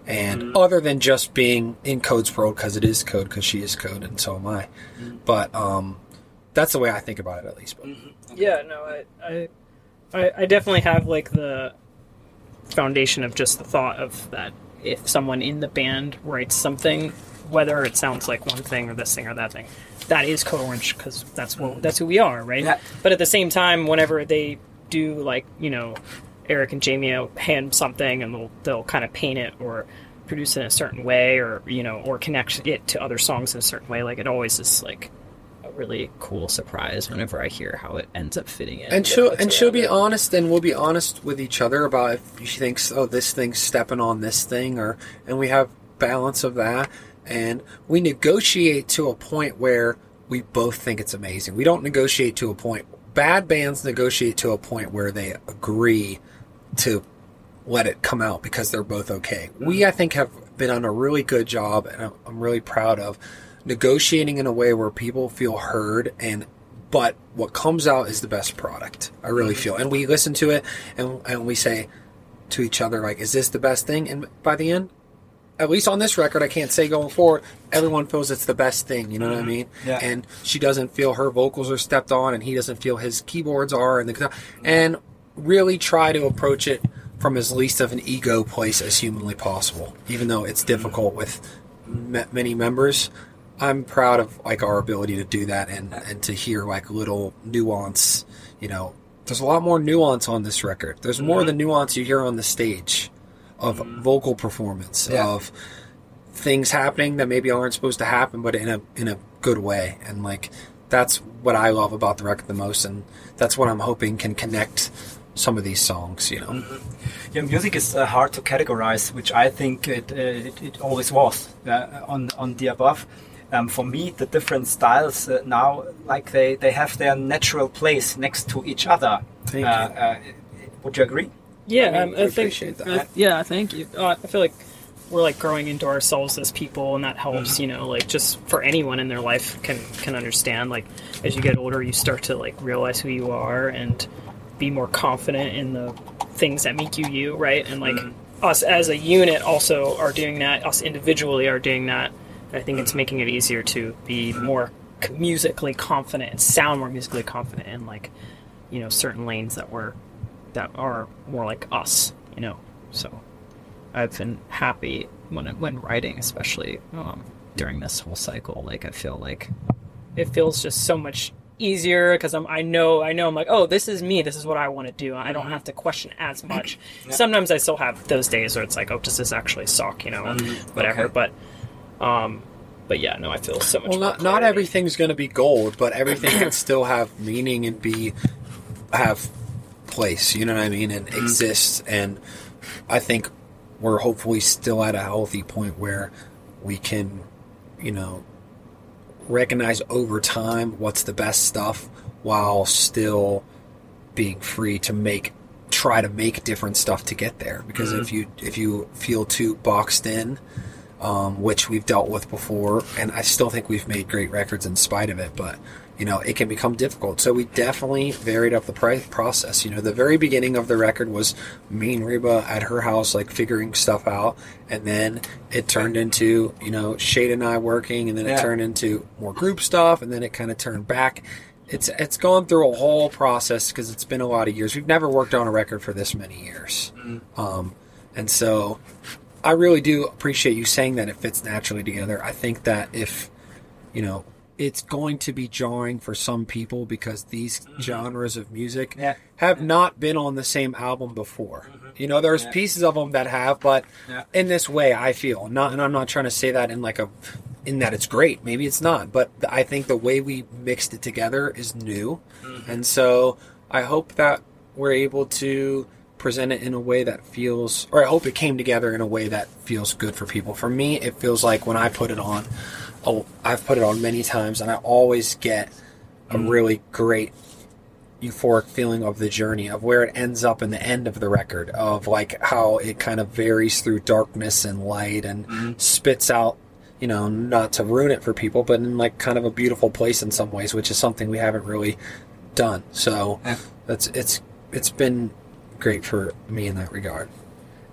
And Mm-hmm. other than just being in Code's world, because it is Code, because she is Code, and so am I. Mm-hmm. But um, that's the way I think about it, at least. But. Yeah, no, I, I, I, I definitely have like the foundation of just the thought of that if someone in the band writes something, whether it sounds like one thing or this thing or that thing, that is Code Orange because that's what that's who we are, right? Yeah. But at the same time, whenever they do like you know, Eric and Jamie will hand something and they'll they'll kind of paint it or produce it in a certain way or you know or connect it to other songs in a certain way. Like it always is like a really cool surprise whenever I hear how it ends up fitting in. And she'll and she'll be honest, and we'll be honest with each other about if she thinks, oh, this thing's stepping on this thing, or and we have balance of that, and we negotiate to a point where we both think it's amazing. We don't negotiate to a point. Bad bands negotiate to a point where they agree to let it come out because they're both okay. We, I think, have been on a really good job, and I'm really proud of negotiating in a way where people feel heard, and but what comes out is the best product. I really feel, and we listen to it, and and we say to each other like, "Is this the best thing?" And by the end, at least on this record, I can't say going forward, everyone feels it's the best thing. You know what I mean? Yeah. And she doesn't feel her vocals are stepped on, and he doesn't feel his keyboards are, and the and really try to approach it from as least of an ego place as humanly possible, even though it's difficult with m- many members. I'm proud of like our ability to do that and, and to hear like little nuance. You know, there's a lot more nuance on this record. There's more of the nuance you hear on the stage of vocal performance, Yeah. of things happening that maybe aren't supposed to happen, but in a in a good way. And like that's what I love about the record the most, and that's what I'm hoping can connect some of these songs. You know. Yeah, music is uh, hard to categorize, which I think it uh, it, it always was uh, on on the above. Um, for me, the different styles uh, now, like they, they have their natural place next to each other. Thank uh, you. Uh, would you agree? Yeah, I mean, um, I I, think. appreciate that. uh, yeah, thank you. Uh, I feel like we're like growing into ourselves as people, and that helps. You know, like just for anyone in their life can can understand. Like as you get older, you start to like realize who you are and be more confident in the things that make you you, right? And like us as a unit also are doing that. Us individually are doing that. I think it's making it easier to be more musically confident and sound more musically confident in like, you know, certain lanes that were that are more like us, you know. So I've been happy when when writing, especially um, during this whole cycle. Like I feel like it feels just so much easier because I'm I know I know I'm like, oh, this is me. This is what I want to do. I don't have to question as much. Yeah. Sometimes I still have those days where it's like, oh, does this actually suck? You know, whatever. Okay. But Um, but yeah, no, I feel so much. Well, more not not clarity. everything's going to be gold, but everything can still have meaning and be have place. You know what I mean? And exist. And I think we're hopefully still at a healthy point where we can, you know, recognize over time what's the best stuff while still being free to make try to make different stuff to get there. Because if you if you feel too boxed in, Um, which we've dealt with before, and I still think we've made great records in spite of it, but, you know, it can become difficult. So we definitely varied up the pri- process. You know, the very beginning of the record was me and Reba at her house, like, figuring stuff out, and then it turned into, you know, Shade and I working, and then it Yeah. turned into more group stuff, and then it kind of turned back. It's it's gone through a whole process, because it's been a lot of years. We've never worked on a record for this many years. Um, and so I really do appreciate you saying that it fits naturally together. I think that if, you know, it's going to be jarring for some people because these genres of music Yeah. have not been on the same album before. You know, there's Yeah. pieces of them that have, but Yeah. in this way, I feel not, and I'm not trying to say that in like a, in that it's great. Maybe it's not, but I think the way we mixed it together is new, and so I hope that we're able to present it in a way that feels, or I hope it came together in a way that feels good for people. For me, it feels like when I put it on, oh, I've put it on many times, and I always get a really great euphoric feeling of the journey, of where it ends up in the end of the record, of like how it kind of varies through darkness and light and spits out, you know, not to ruin it for people, but in like kind of a beautiful place in some ways, which is something we haven't really done. So Yeah. that's it's it's been great for me in that regard.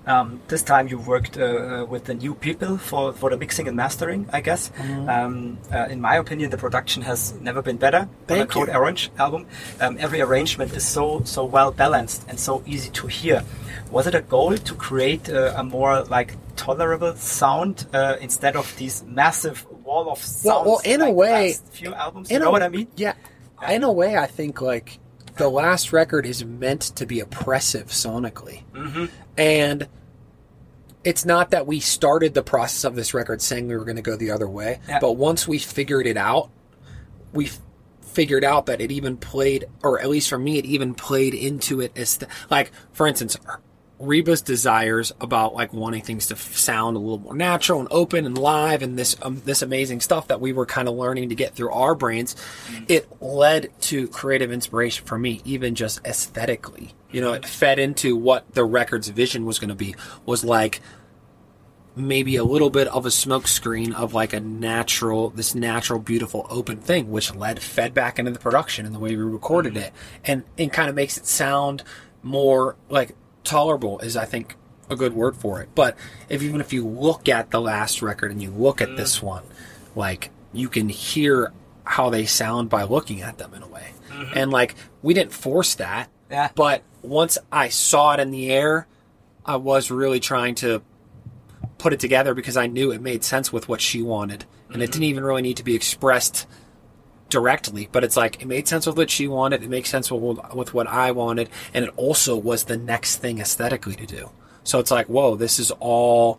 Um, this time you worked uh, with the new people for, for the mixing and mastering, I guess. Mm-hmm. Um, uh, in my opinion, the production has never been better Thank on a Code you. Orange album. Um, every arrangement is so so well balanced and so easy to hear. Was it a goal to create uh, a more like tolerable sound uh, instead of these massive wall of sounds? Well, well in like a way, the last few albums, in you know a, what I mean? Yeah, in a way, I think like the last record is meant to be oppressive sonically, Mm-hmm. and it's not that we started the process of this record saying we were going to go the other way, Yeah. but once we figured it out, we f- figured out that it even played, or at least for me, it even played into it as th- like, for instance, Reba's desires about like wanting things to f- sound a little more natural and open and live and this um, this amazing stuff that we were kind of learning to get through our brains, it led to creative inspiration for me, even just aesthetically. You know, it fed into what the record's vision was going to be, was like maybe a little bit of a smoke screen of like a natural, this natural, beautiful, open thing, which led, fed back into the production and the way we recorded it. And it kind of makes it sound more like tolerable is, I think, a good word for it. But if even if you look at the last record and you look at this one, like you can hear how they sound by looking at them in a way. Mm-hmm. And like, we didn't force that. Yeah. But once I saw it in the air, I was really trying to put it together because I knew it made sense with what she wanted. And mm-hmm. it didn't even really need to be expressed directly, but it's like it made sense with what she wanted, it makes sense with, with what I wanted, and it also was the next thing aesthetically to do. So it's like, whoa, this is all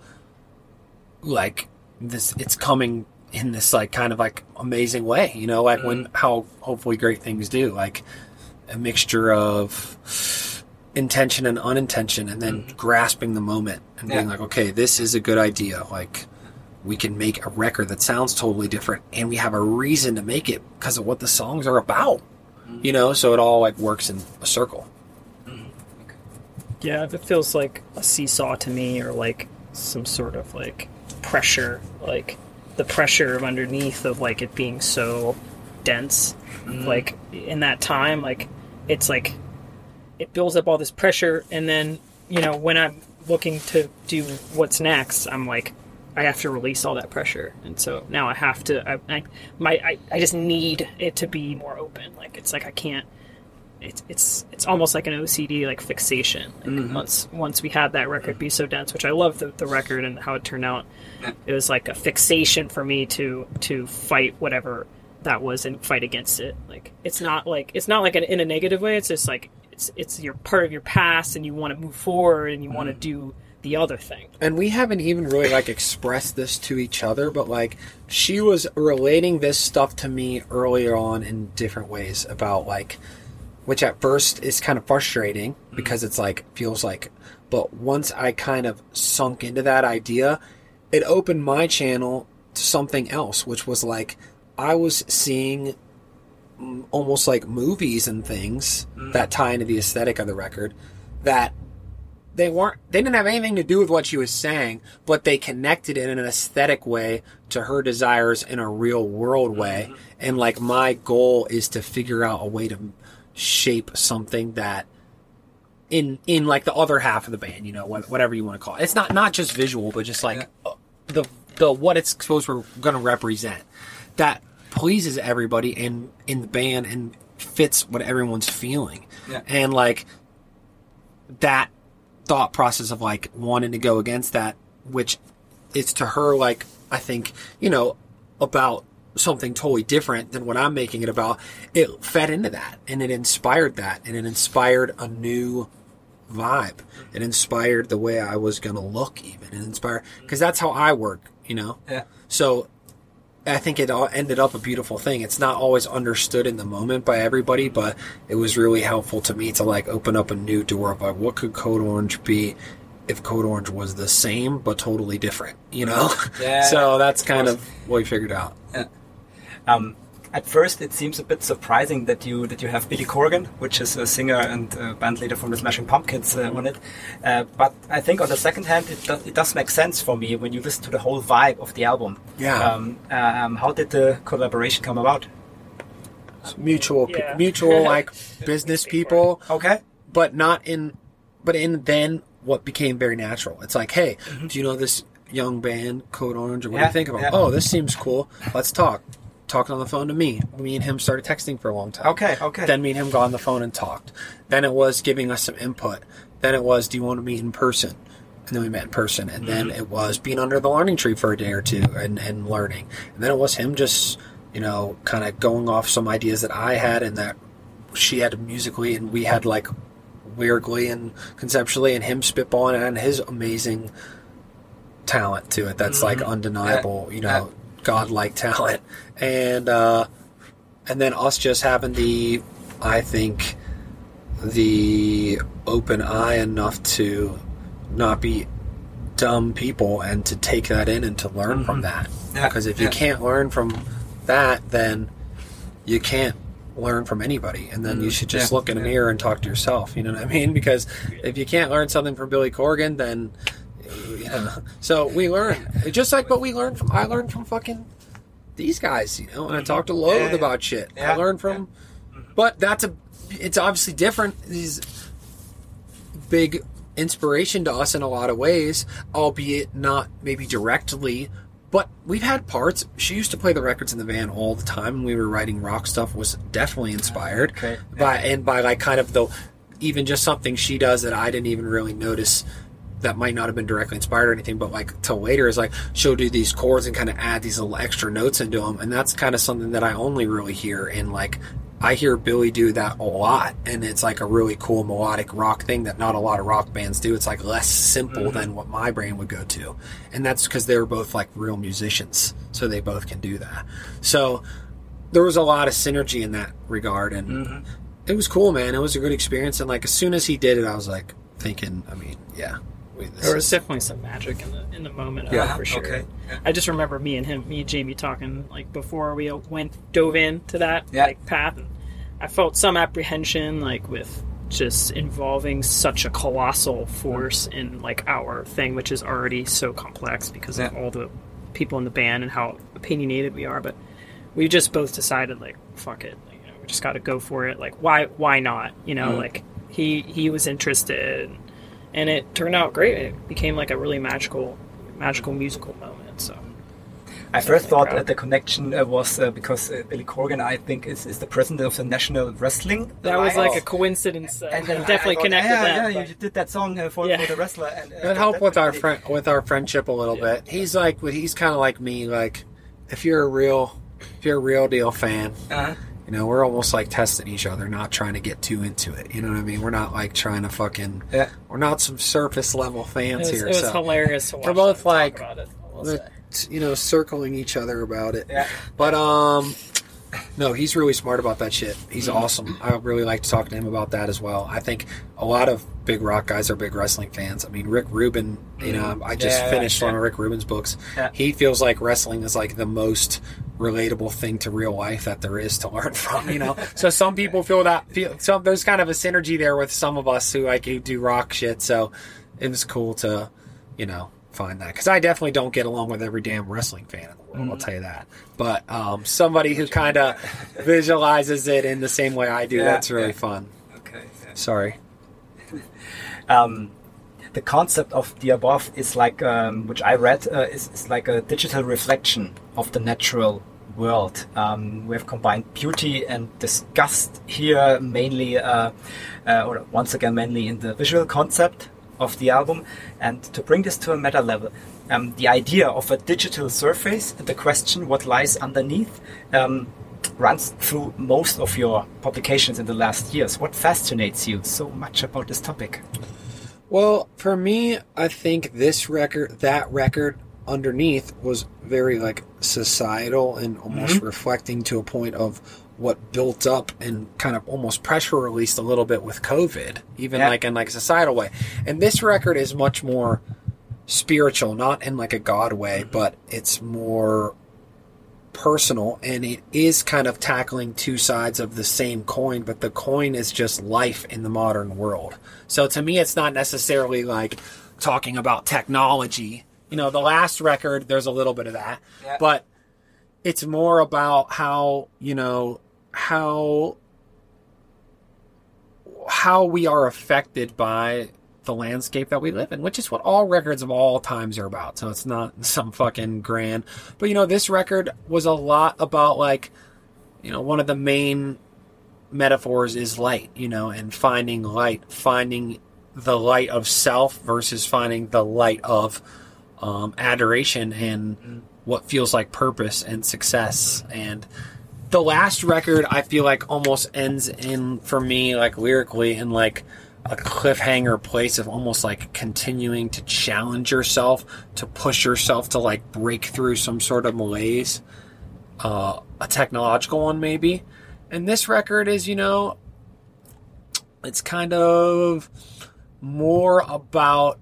like this, it's coming in this like kind of like amazing way, you know, like mm-hmm. when how hopefully great things do, like a mixture of intention and unintention, and then mm-hmm. grasping the moment and yeah. being like, okay, this is a good idea, like we can make a record that sounds totally different, and we have a reason to make it because of what the songs are about, mm-hmm. you know, so it all like works in a circle. Mm-hmm. Yeah, it feels like a seesaw to me, or like some sort of like pressure, like the pressure of underneath of like it being so dense, mm-hmm. like in that time, like it's like it builds up all this pressure, and then, you know, when I'm looking to do what's next, I'm like, I have to release all that pressure, and so now I have to. I, I my I, I just need it to be more open. Like it's like I can't. It's it's it's almost like an O C D like fixation. Like mm-hmm. Once once we had that record be so dense, which I love the, the record and how it turned out. It was like a fixation for me to to fight whatever that was and fight against it. Like it's not like it's not like an, in a negative way. It's just like it's it's your part of your past, and you want to move forward, and you mm-hmm. want to do the other thing. And we haven't even really like expressed this to each other, but like she was relating this stuff to me earlier on in different ways about like, which at first is kind of frustrating because it's like feels like, but once I kind of sunk into that idea, it opened my channel to something else, which was like I was seeing almost like movies and things mm. that tie into the aesthetic of the record that they weren't, they didn't have anything to do with what she was saying, but they connected it in an aesthetic way to her desires in a real world way. Mm-hmm. And like my goal is to figure out a way to shape something that in, in like the other half of the band, you know, whatever you want to call it. It's not, not just visual, but just like yeah. the, the, what it's supposed we're going to represent that pleases everybody in, in the band and fits what everyone's feeling. Yeah. And like that thought process of like wanting to go against that, which is to her like I think, you know, about something totally different than what I'm making it about, it fed into that and it inspired that, and it inspired a new vibe. It inspired the way I was gonna look, even. It inspired because that's how I work, you know. Yeah. So I think it all ended up a beautiful thing. It's not always understood in the moment by everybody, but it was really helpful to me to like open up a new door of like, what could Code Orange be if Code Orange was the same but totally different, you know? Yeah. So that's kind of what we figured out. Yeah. Um, at first, it seems a bit surprising that you that you have Billy Corgan, which is a singer and uh, band leader from the Smashing Pumpkins, uh, on it. Uh, but I think on the second hand, it does, it does make sense for me when you listen to the whole vibe of the album. Yeah. Um, um, how did the collaboration come about? Mutual, Yeah. mutual like business people. Okay. But not in, but in then what became very natural. It's like, hey, Mm-hmm. do you know this young band, Code Orange? Or what do Yeah, you think of them? yeah. Oh, this seems cool. Let's talk. Talked on the phone to me. Me and him started texting for a long time. Okay, okay. Then me and him got on the phone and talked. Then it was giving us some input. Then it was, do you want to meet in person? And then we met in person. And then Mm-hmm. it was being under the learning tree for a day or two and, and learning. And then it was him just, you know, kind of going off some ideas that I had and that she had musically and we had like weirdly and conceptually, and him spitballing and his amazing talent to it. That's like undeniable, you know, godlike talent. And, uh, and then us just having the, I think, the open eye enough to not be dumb people and to take that in and to learn from that. Yeah, Because if you yeah. can't learn from that, then you can't learn from anybody. And then you should just Yeah, look in a yeah. mirror and talk to yourself. You know what I mean? Because if you can't learn something from Billy Corgan, then, you know. So we learn. Just like what we learned from, I learned from fucking these guys, you know, and I talked to Loathe Yeah, yeah. about shit. Yeah, I learned from, but that's a, it's obviously different. These big inspiration to us in a lot of ways, albeit not maybe directly, but we've had parts. She used to play the records in the van all the time, and we were writing rock stuff, was definitely inspired Okay. by, and by like kind of the, even just something she does that I didn't even really notice that might not have been directly inspired or anything, but like till later is like she'll do these chords and kind of add these little extra notes into them, and that's kind of something that I only really hear in like, I hear Billy do that a lot, and it's like a really cool melodic rock thing that not a lot of rock bands do. It's like less simple Mm-hmm. than what my brain would go to, and that's because they're both like real musicians, so they both can do that. So there was a lot of synergy in that regard, and Mm-hmm. it was cool, man. It was a good experience, and like as soon as he did it, I was like thinking, I mean, yeah, we, this There was is- definitely some magic in the in the moment, Yeah, uh, for sure. okay. Yeah. I just remember me and him, me and Jamie talking like before we went dove into that Yeah. like path, and I felt some apprehension like with just involving such a colossal force in like our thing, which is already so complex because of Yeah. all the people in the band and how opinionated we are. But we just both decided like, fuck it, like, you know, we just got to go for it. Like, why why not? You know, Mm. like he he was interested. And it turned out great. It became like a really magical, magical musical moment. So I first thought proud. uh, the connection uh, was uh, because uh, Billy Corgan, I think, is, is the president of the National Wrestling that was like Alliance. a coincidence. Uh, And then I- definitely I thought, connected yeah, that. Yeah, but- you did that song uh, for, Yeah. for the wrestler. And, uh, That helped with our really- friend with our friendship a little Yeah. bit. He's like, he's kind of like me. Like, if you're a real, if you're a real deal fan, Uh-huh. you know, we're almost like testing each other, not trying to get too into it. You know what I mean? We're not like trying to fucking. Yeah. We're not some surface level It fans was, here. it was so hilarious to watch. We're both them talk like- about it, I will we're, say. you know, circling each other about it. Yeah. But um, no, he's really smart about that shit. He's Mm-hmm. awesome. I really like to talk to him about that as well. I think a lot of big rock guys are big wrestling fans. I mean, Rick Rubin, you know, I just Yeah, finished yeah. one of Rick Rubin's books. Yeah. He feels like wrestling is like the most relatable thing to real life that there is to learn from, you know? So some people feel that, feel some, there's kind of a synergy there with some of us who like who do rock shit. So it was cool to, you know, find that, because I definitely don't get along with every damn wrestling fan in the world. I'll tell you that. But um, somebody who kind of visualizes it in the same way I do, Yeah, that's really yeah. fun. Okay. yeah. Sorry. um, the concept of the above is like, um, which I read, uh, is, is like a digital reflection of the natural world. Um, we have combined beauty and disgust here, mainly, uh, uh, or once again, mainly in the visual concept of the album. And to bring this to a meta level, um, the idea of a digital surface and the question what lies underneath um, runs through most of your publications in the last years. What fascinates you so much about this topic? Well, for me, I think this record, that record underneath was very like societal and almost reflecting to a point of what built up and kind of almost pressure released a little bit with COVID, even Yeah. like in like a societal way. And this record is much more spiritual, not in like a God way, but it's more personal, and it is kind of tackling two sides of the same coin, but the coin is just life in the modern world. So to me, it's not necessarily like talking about technology. You know, the last record, there's a little bit of that, Yeah. but it's more about how, you know, how how we are affected by the landscape that we live in, which is what all records of all times are about. So it's not some fucking grand, but you know, this record was a lot about, like, you know, one of the main metaphors is light, you know, and finding light, finding the light of self versus finding the light of um, adoration and what feels like purpose and success. And the last record, I feel like, almost ends in, for me, like, lyrically, in like a cliffhanger place of almost like continuing to challenge yourself, to push yourself to like break through some sort of malaise, uh, a technological one maybe. And this record is, you know, it's kind of more about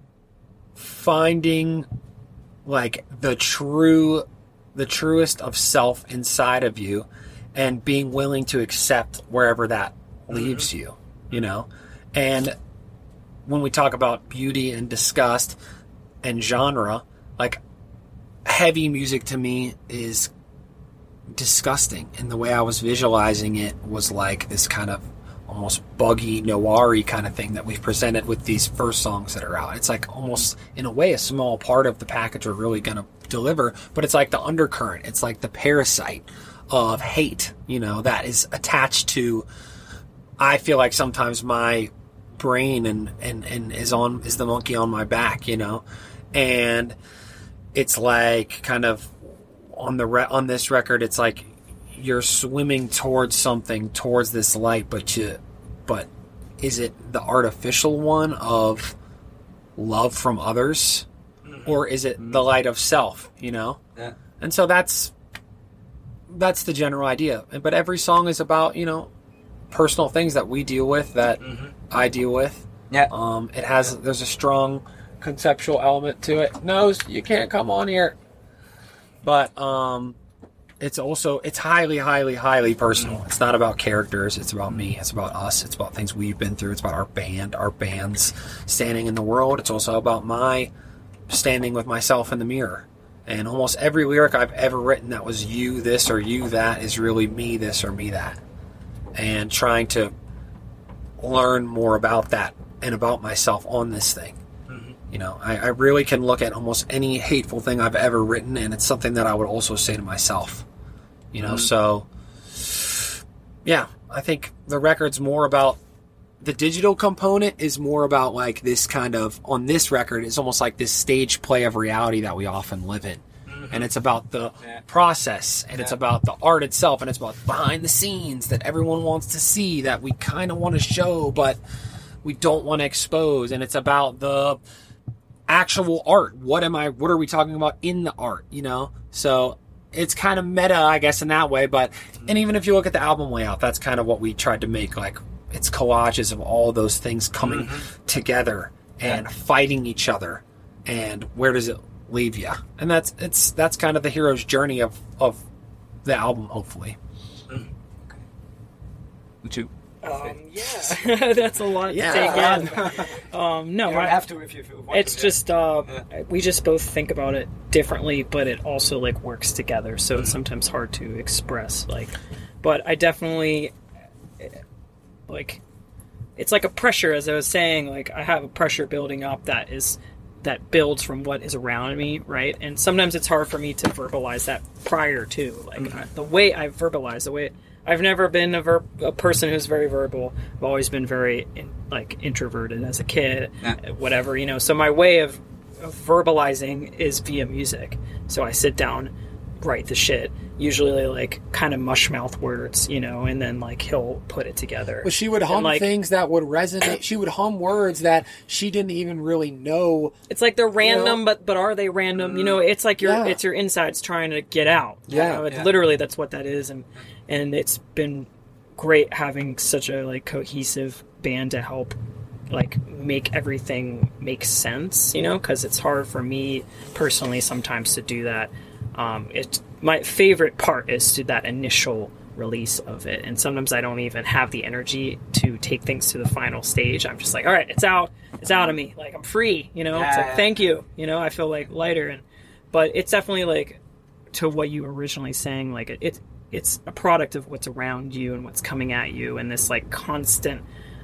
finding like the true, the truest of self inside of you, and being willing to accept wherever that leaves mm-hmm. you, you know? And when we talk about beauty and disgust and genre, like, heavy music to me is disgusting. And the way I was visualizing it was like this kind of almost buggy, noir-y kind of thing that we've presented with these first songs that are out. It's like almost, in a way, a small part of the package we're really going to deliver, but it's like the undercurrent. It's like the parasite of hate, you know, that is attached to, I feel like sometimes my brain and, and, and is on, is the monkey on my back, you know? And it's like kind of on the, re- on this record, it's like you're swimming towards something, towards this light, but you, but is it the artificial one of love from others, or is it the light of self, you know? Yeah. And so that's, that's the general idea. But every song is about, you know, personal things that we deal with, that mm-hmm. I deal with. Yeah. Um, it has, yeah. There's a strong conceptual element to it. No, you can't come on here. But um, it's also, it's highly, highly, highly personal. It's not about characters. It's about me. It's about us. It's about things we've been through. It's about our band, our band's standing in the world. It's also about my standing with myself in the mirror. And almost every lyric I've ever written that was you this or you that is really me this or me that. And trying to learn more about that and about myself on this thing. Mm-hmm. You know, I, I really can look at almost any hateful thing I've ever written, and it's something that I would also say to myself. You know, mm-hmm. so, yeah, I think the record's more about, the digital component is more about like this kind of, on this record, it's almost like this stage play of reality that we often live in. Mm-hmm. And it's about the yeah. process, and yeah. it's about the art itself, and it's about behind the scenes that everyone wants to see, that we kind of want to show, but we don't want to expose. And it's about the actual art. What am I, what are we talking about in the art, you know? So it's kind of meta, I guess, in that way. But, and even if you look at the album layout, that's kind of what we tried to make, like, it's collages of all those things coming mm-hmm. together and yeah. fighting each other. And where does it leave you? And that's it's that's kind of the hero's journey of, of the album, hopefully. Mm. Okay. Two. Um, yeah, that's a lot yeah. to take in. Um, no, you don't I, have to if you, if you want it's to, just uh, yeah. we just both think about it differently, but it also like works together. So Mm-hmm. it's sometimes hard to express. Like, but I definitely. Like, it's like a pressure, as I was saying, like, I have a pressure building up that is, that builds from what is around me, right? And sometimes it's hard for me to verbalize that prior to, like, mm-hmm. I, the way I verbalize, the way, I've never been a, ver- a person who's very verbal. I've always been very, in, like, introverted as a kid, yeah. whatever, you know, so my way of, of verbalizing is via music. So I sit down, write the shit, usually like kind of mushmouth words, you know, and then like he'll put it together. Well, she would hum like, things that would resonate. She would hum words that she didn't even really know. It's like they're random, you know? but but are they random? You know, it's like your yeah. it's your insides trying to get out. Yeah, you know? It's yeah. literally that's what that is, and and it's been great having such a like cohesive band to help like make everything make sense, you know, because it's hard for me personally sometimes to do that. Um, it my favorite part is to that initial release of it, and sometimes I don't even have the energy to take things to the final stage. I'm just like, all right, it's out, it's out of me, like I'm free, you know. Yeah. It's like thank you, you know. I feel like lighter, and but it's definitely like to what you were originally saying, like it, it it's a product of what's around you and what's coming at you, and this like constant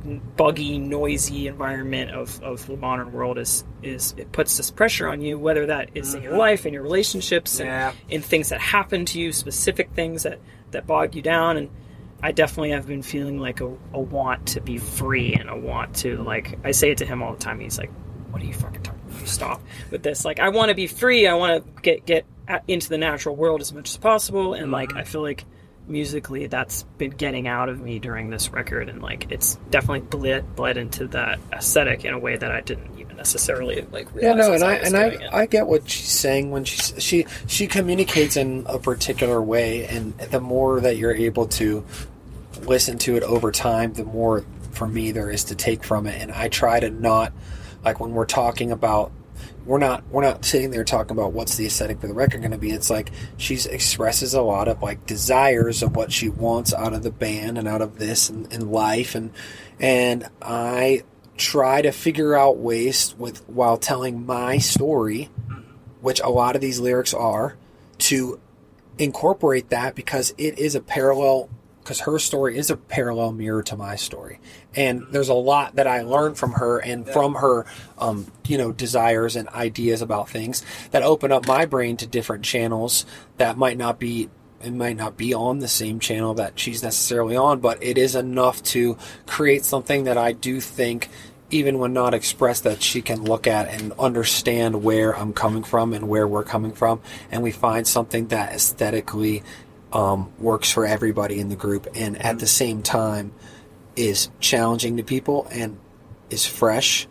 buggy, noisy environment of, of the modern world is is it puts this pressure on you, whether that is mm-hmm. in your life, in your relationships, yeah. and in things that happen to you, specific things that, that bog you down. And I definitely have been feeling like a, a want to be free and a want to, like, I say it to him all the time. He's like, what are you fucking talking about? You stop with this. Like, I want to be free. I want to get, get into the natural world as much as possible. And, mm-hmm. like, I feel like musically that's been getting out of me during this record, and like it's definitely bled bled into that aesthetic in a way that I didn't even necessarily like realize. Yeah, no, and I, I and I I get what she's saying when she she she communicates in a particular way, and the more that you're able to listen to it over time, the more for me there is to take from it. And I try to not, like, when we're talking about We're not we're not sitting there talking about what's the aesthetic for the record going to be. It's like she expresses a lot of like desires of what she wants out of the band and out of this and, and life, and and I try to figure out ways with while telling my story, which a lot of these lyrics are, to incorporate that, because it is a parallel. Because her story is a parallel mirror to my story. And there's a lot that I learned from her and from her, um, you know, desires and ideas about things that open up my brain to different channels that might not be, it might not be on the same channel that she's necessarily on, but it is enough to create something that I do think, even when not expressed, that she can look at and understand where I'm coming from and where we're coming from. And we find something that aesthetically Um, works for everybody in the group, and at the same time is challenging to people and is fresh.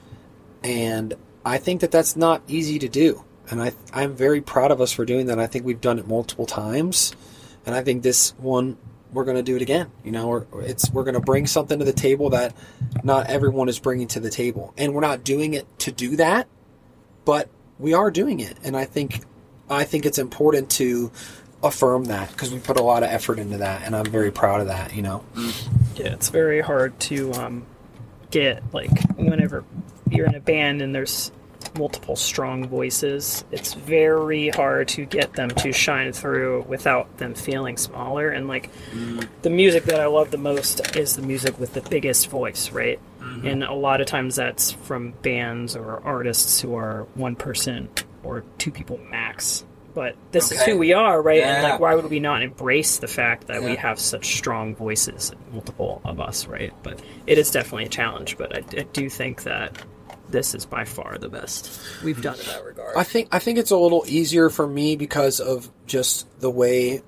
And I think that that's not easy to do. And I, I'm very proud of us for doing that. I think we've done it multiple times. And I think this one, we're going to do it again. You know, we're, it's, we're going to bring something to the table that not everyone is bringing to the table. And we're not doing it to do that, but we are doing it. And I think, I think it's important to affirm that, because we put a lot of effort into that, and I'm very proud of that, you know. Yeah, it's very hard to um, get, like, whenever you're in a band and there's multiple strong voices, it's very hard to get them to shine through without them feeling smaller. And, like, mm. the music that I love the most is the music with the biggest voice, right? Mm-hmm. And a lot of times that's from bands or artists who are one person or two people max. But this okay. is who we are, right? Yeah. And like, why would we not embrace the fact that yeah. we have such strong voices, multiple of us, right? But it is definitely a challenge. But I, I do think that this is by far the best we've done in that regard. I think I think it's a little easier for me because of just the way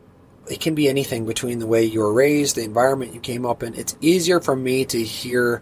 it can be anything between the way you were raised, the environment you came up in. It's easier for me to hear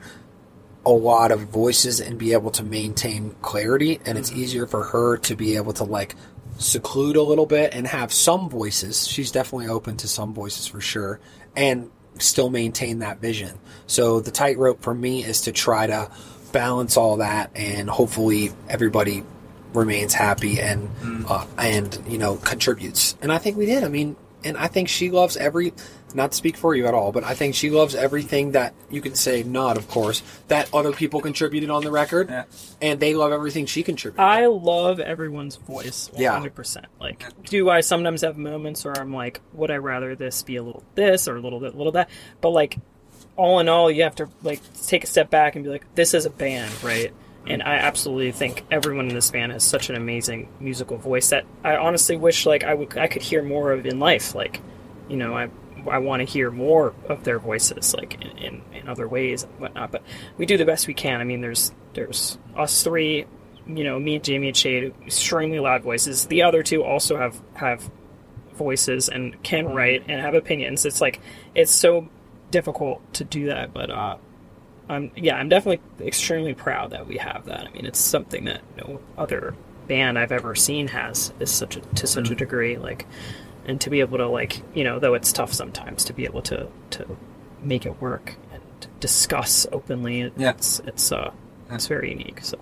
a lot of voices and be able to maintain clarity, and it's easier for her to be able to like seclude a little bit and have some voices. She's definitely open to some voices for sure, and still maintain that vision. So the tightrope for me is to try to balance all that, and hopefully everybody remains happy and mm. uh, and you know contributes. And I think we did. I mean, and I think she loves every. Not to speak for you at all, but I think she loves everything that you can say, not of course, that other people contributed on the record, yeah. and they love everything she contributed. I love everyone's voice, one hundred percent. Yeah. Like, do I sometimes have moments where I'm like, would I rather this be a little this or a little bit, little that? But like, all in all, you have to like take a step back and be like, this is a band, right? And I absolutely think everyone in this band has such an amazing musical voice that I honestly wish like I would I could hear more of in life. Like, you know, I. I want to hear more of their voices, like in, in, in other ways and whatnot. But we do the best we can. I mean, there's there's us three, you know, me, Jamie, and Shade, extremely loud voices. The other two also have have voices and can write and have opinions. It's like it's so difficult to do that, but uh, I'm yeah, I'm definitely extremely proud that we have that. I mean, it's something that no other band I've ever seen has is such a, to such a degree, like. And to be able to, like, you know, though it's tough sometimes, to be able to, to make it work and discuss openly, yeah. it's it's uh it's very unique. So.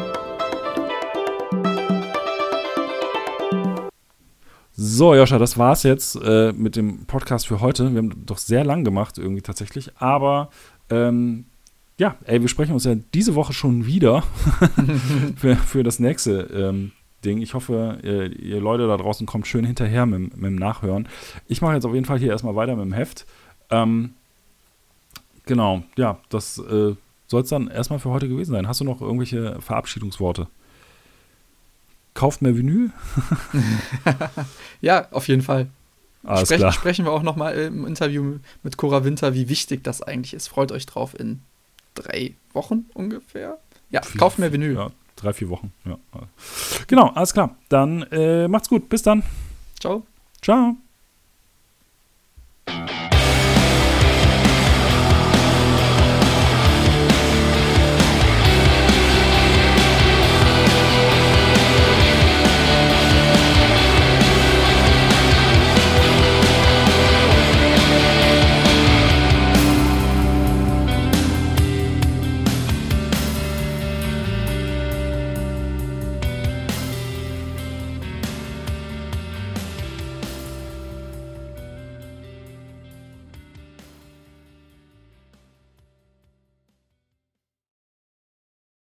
So, Joscha, das war's jetzt äh, mit dem Podcast für heute. Wir haben doch sehr lang gemacht, irgendwie tatsächlich. Aber, ähm, ja, ey, wir sprechen uns ja diese Woche schon wieder für, für das nächste ähm, Ding. Ich hoffe, ihr, ihr Leute da draußen kommt schön hinterher mit, mit dem Nachhören. Ich mache jetzt auf jeden Fall hier erstmal weiter mit dem Heft. Ähm, Genau, ja, das äh, soll es dann erstmal für heute gewesen sein. Hast du noch irgendwelche Verabschiedungsworte? Kauft mehr Vinyl? Ja, auf jeden Fall. Alles Sprech, klar. Sprechen wir auch nochmal im Interview mit Cora Winter, wie wichtig das eigentlich ist. Freut euch drauf in drei Wochen ungefähr. Ja, Vier- kauft mehr Vinyl. Ja, drei, vier Wochen. Ja. Genau, alles klar. Dann äh, macht's gut. Bis dann. Ciao. Ciao.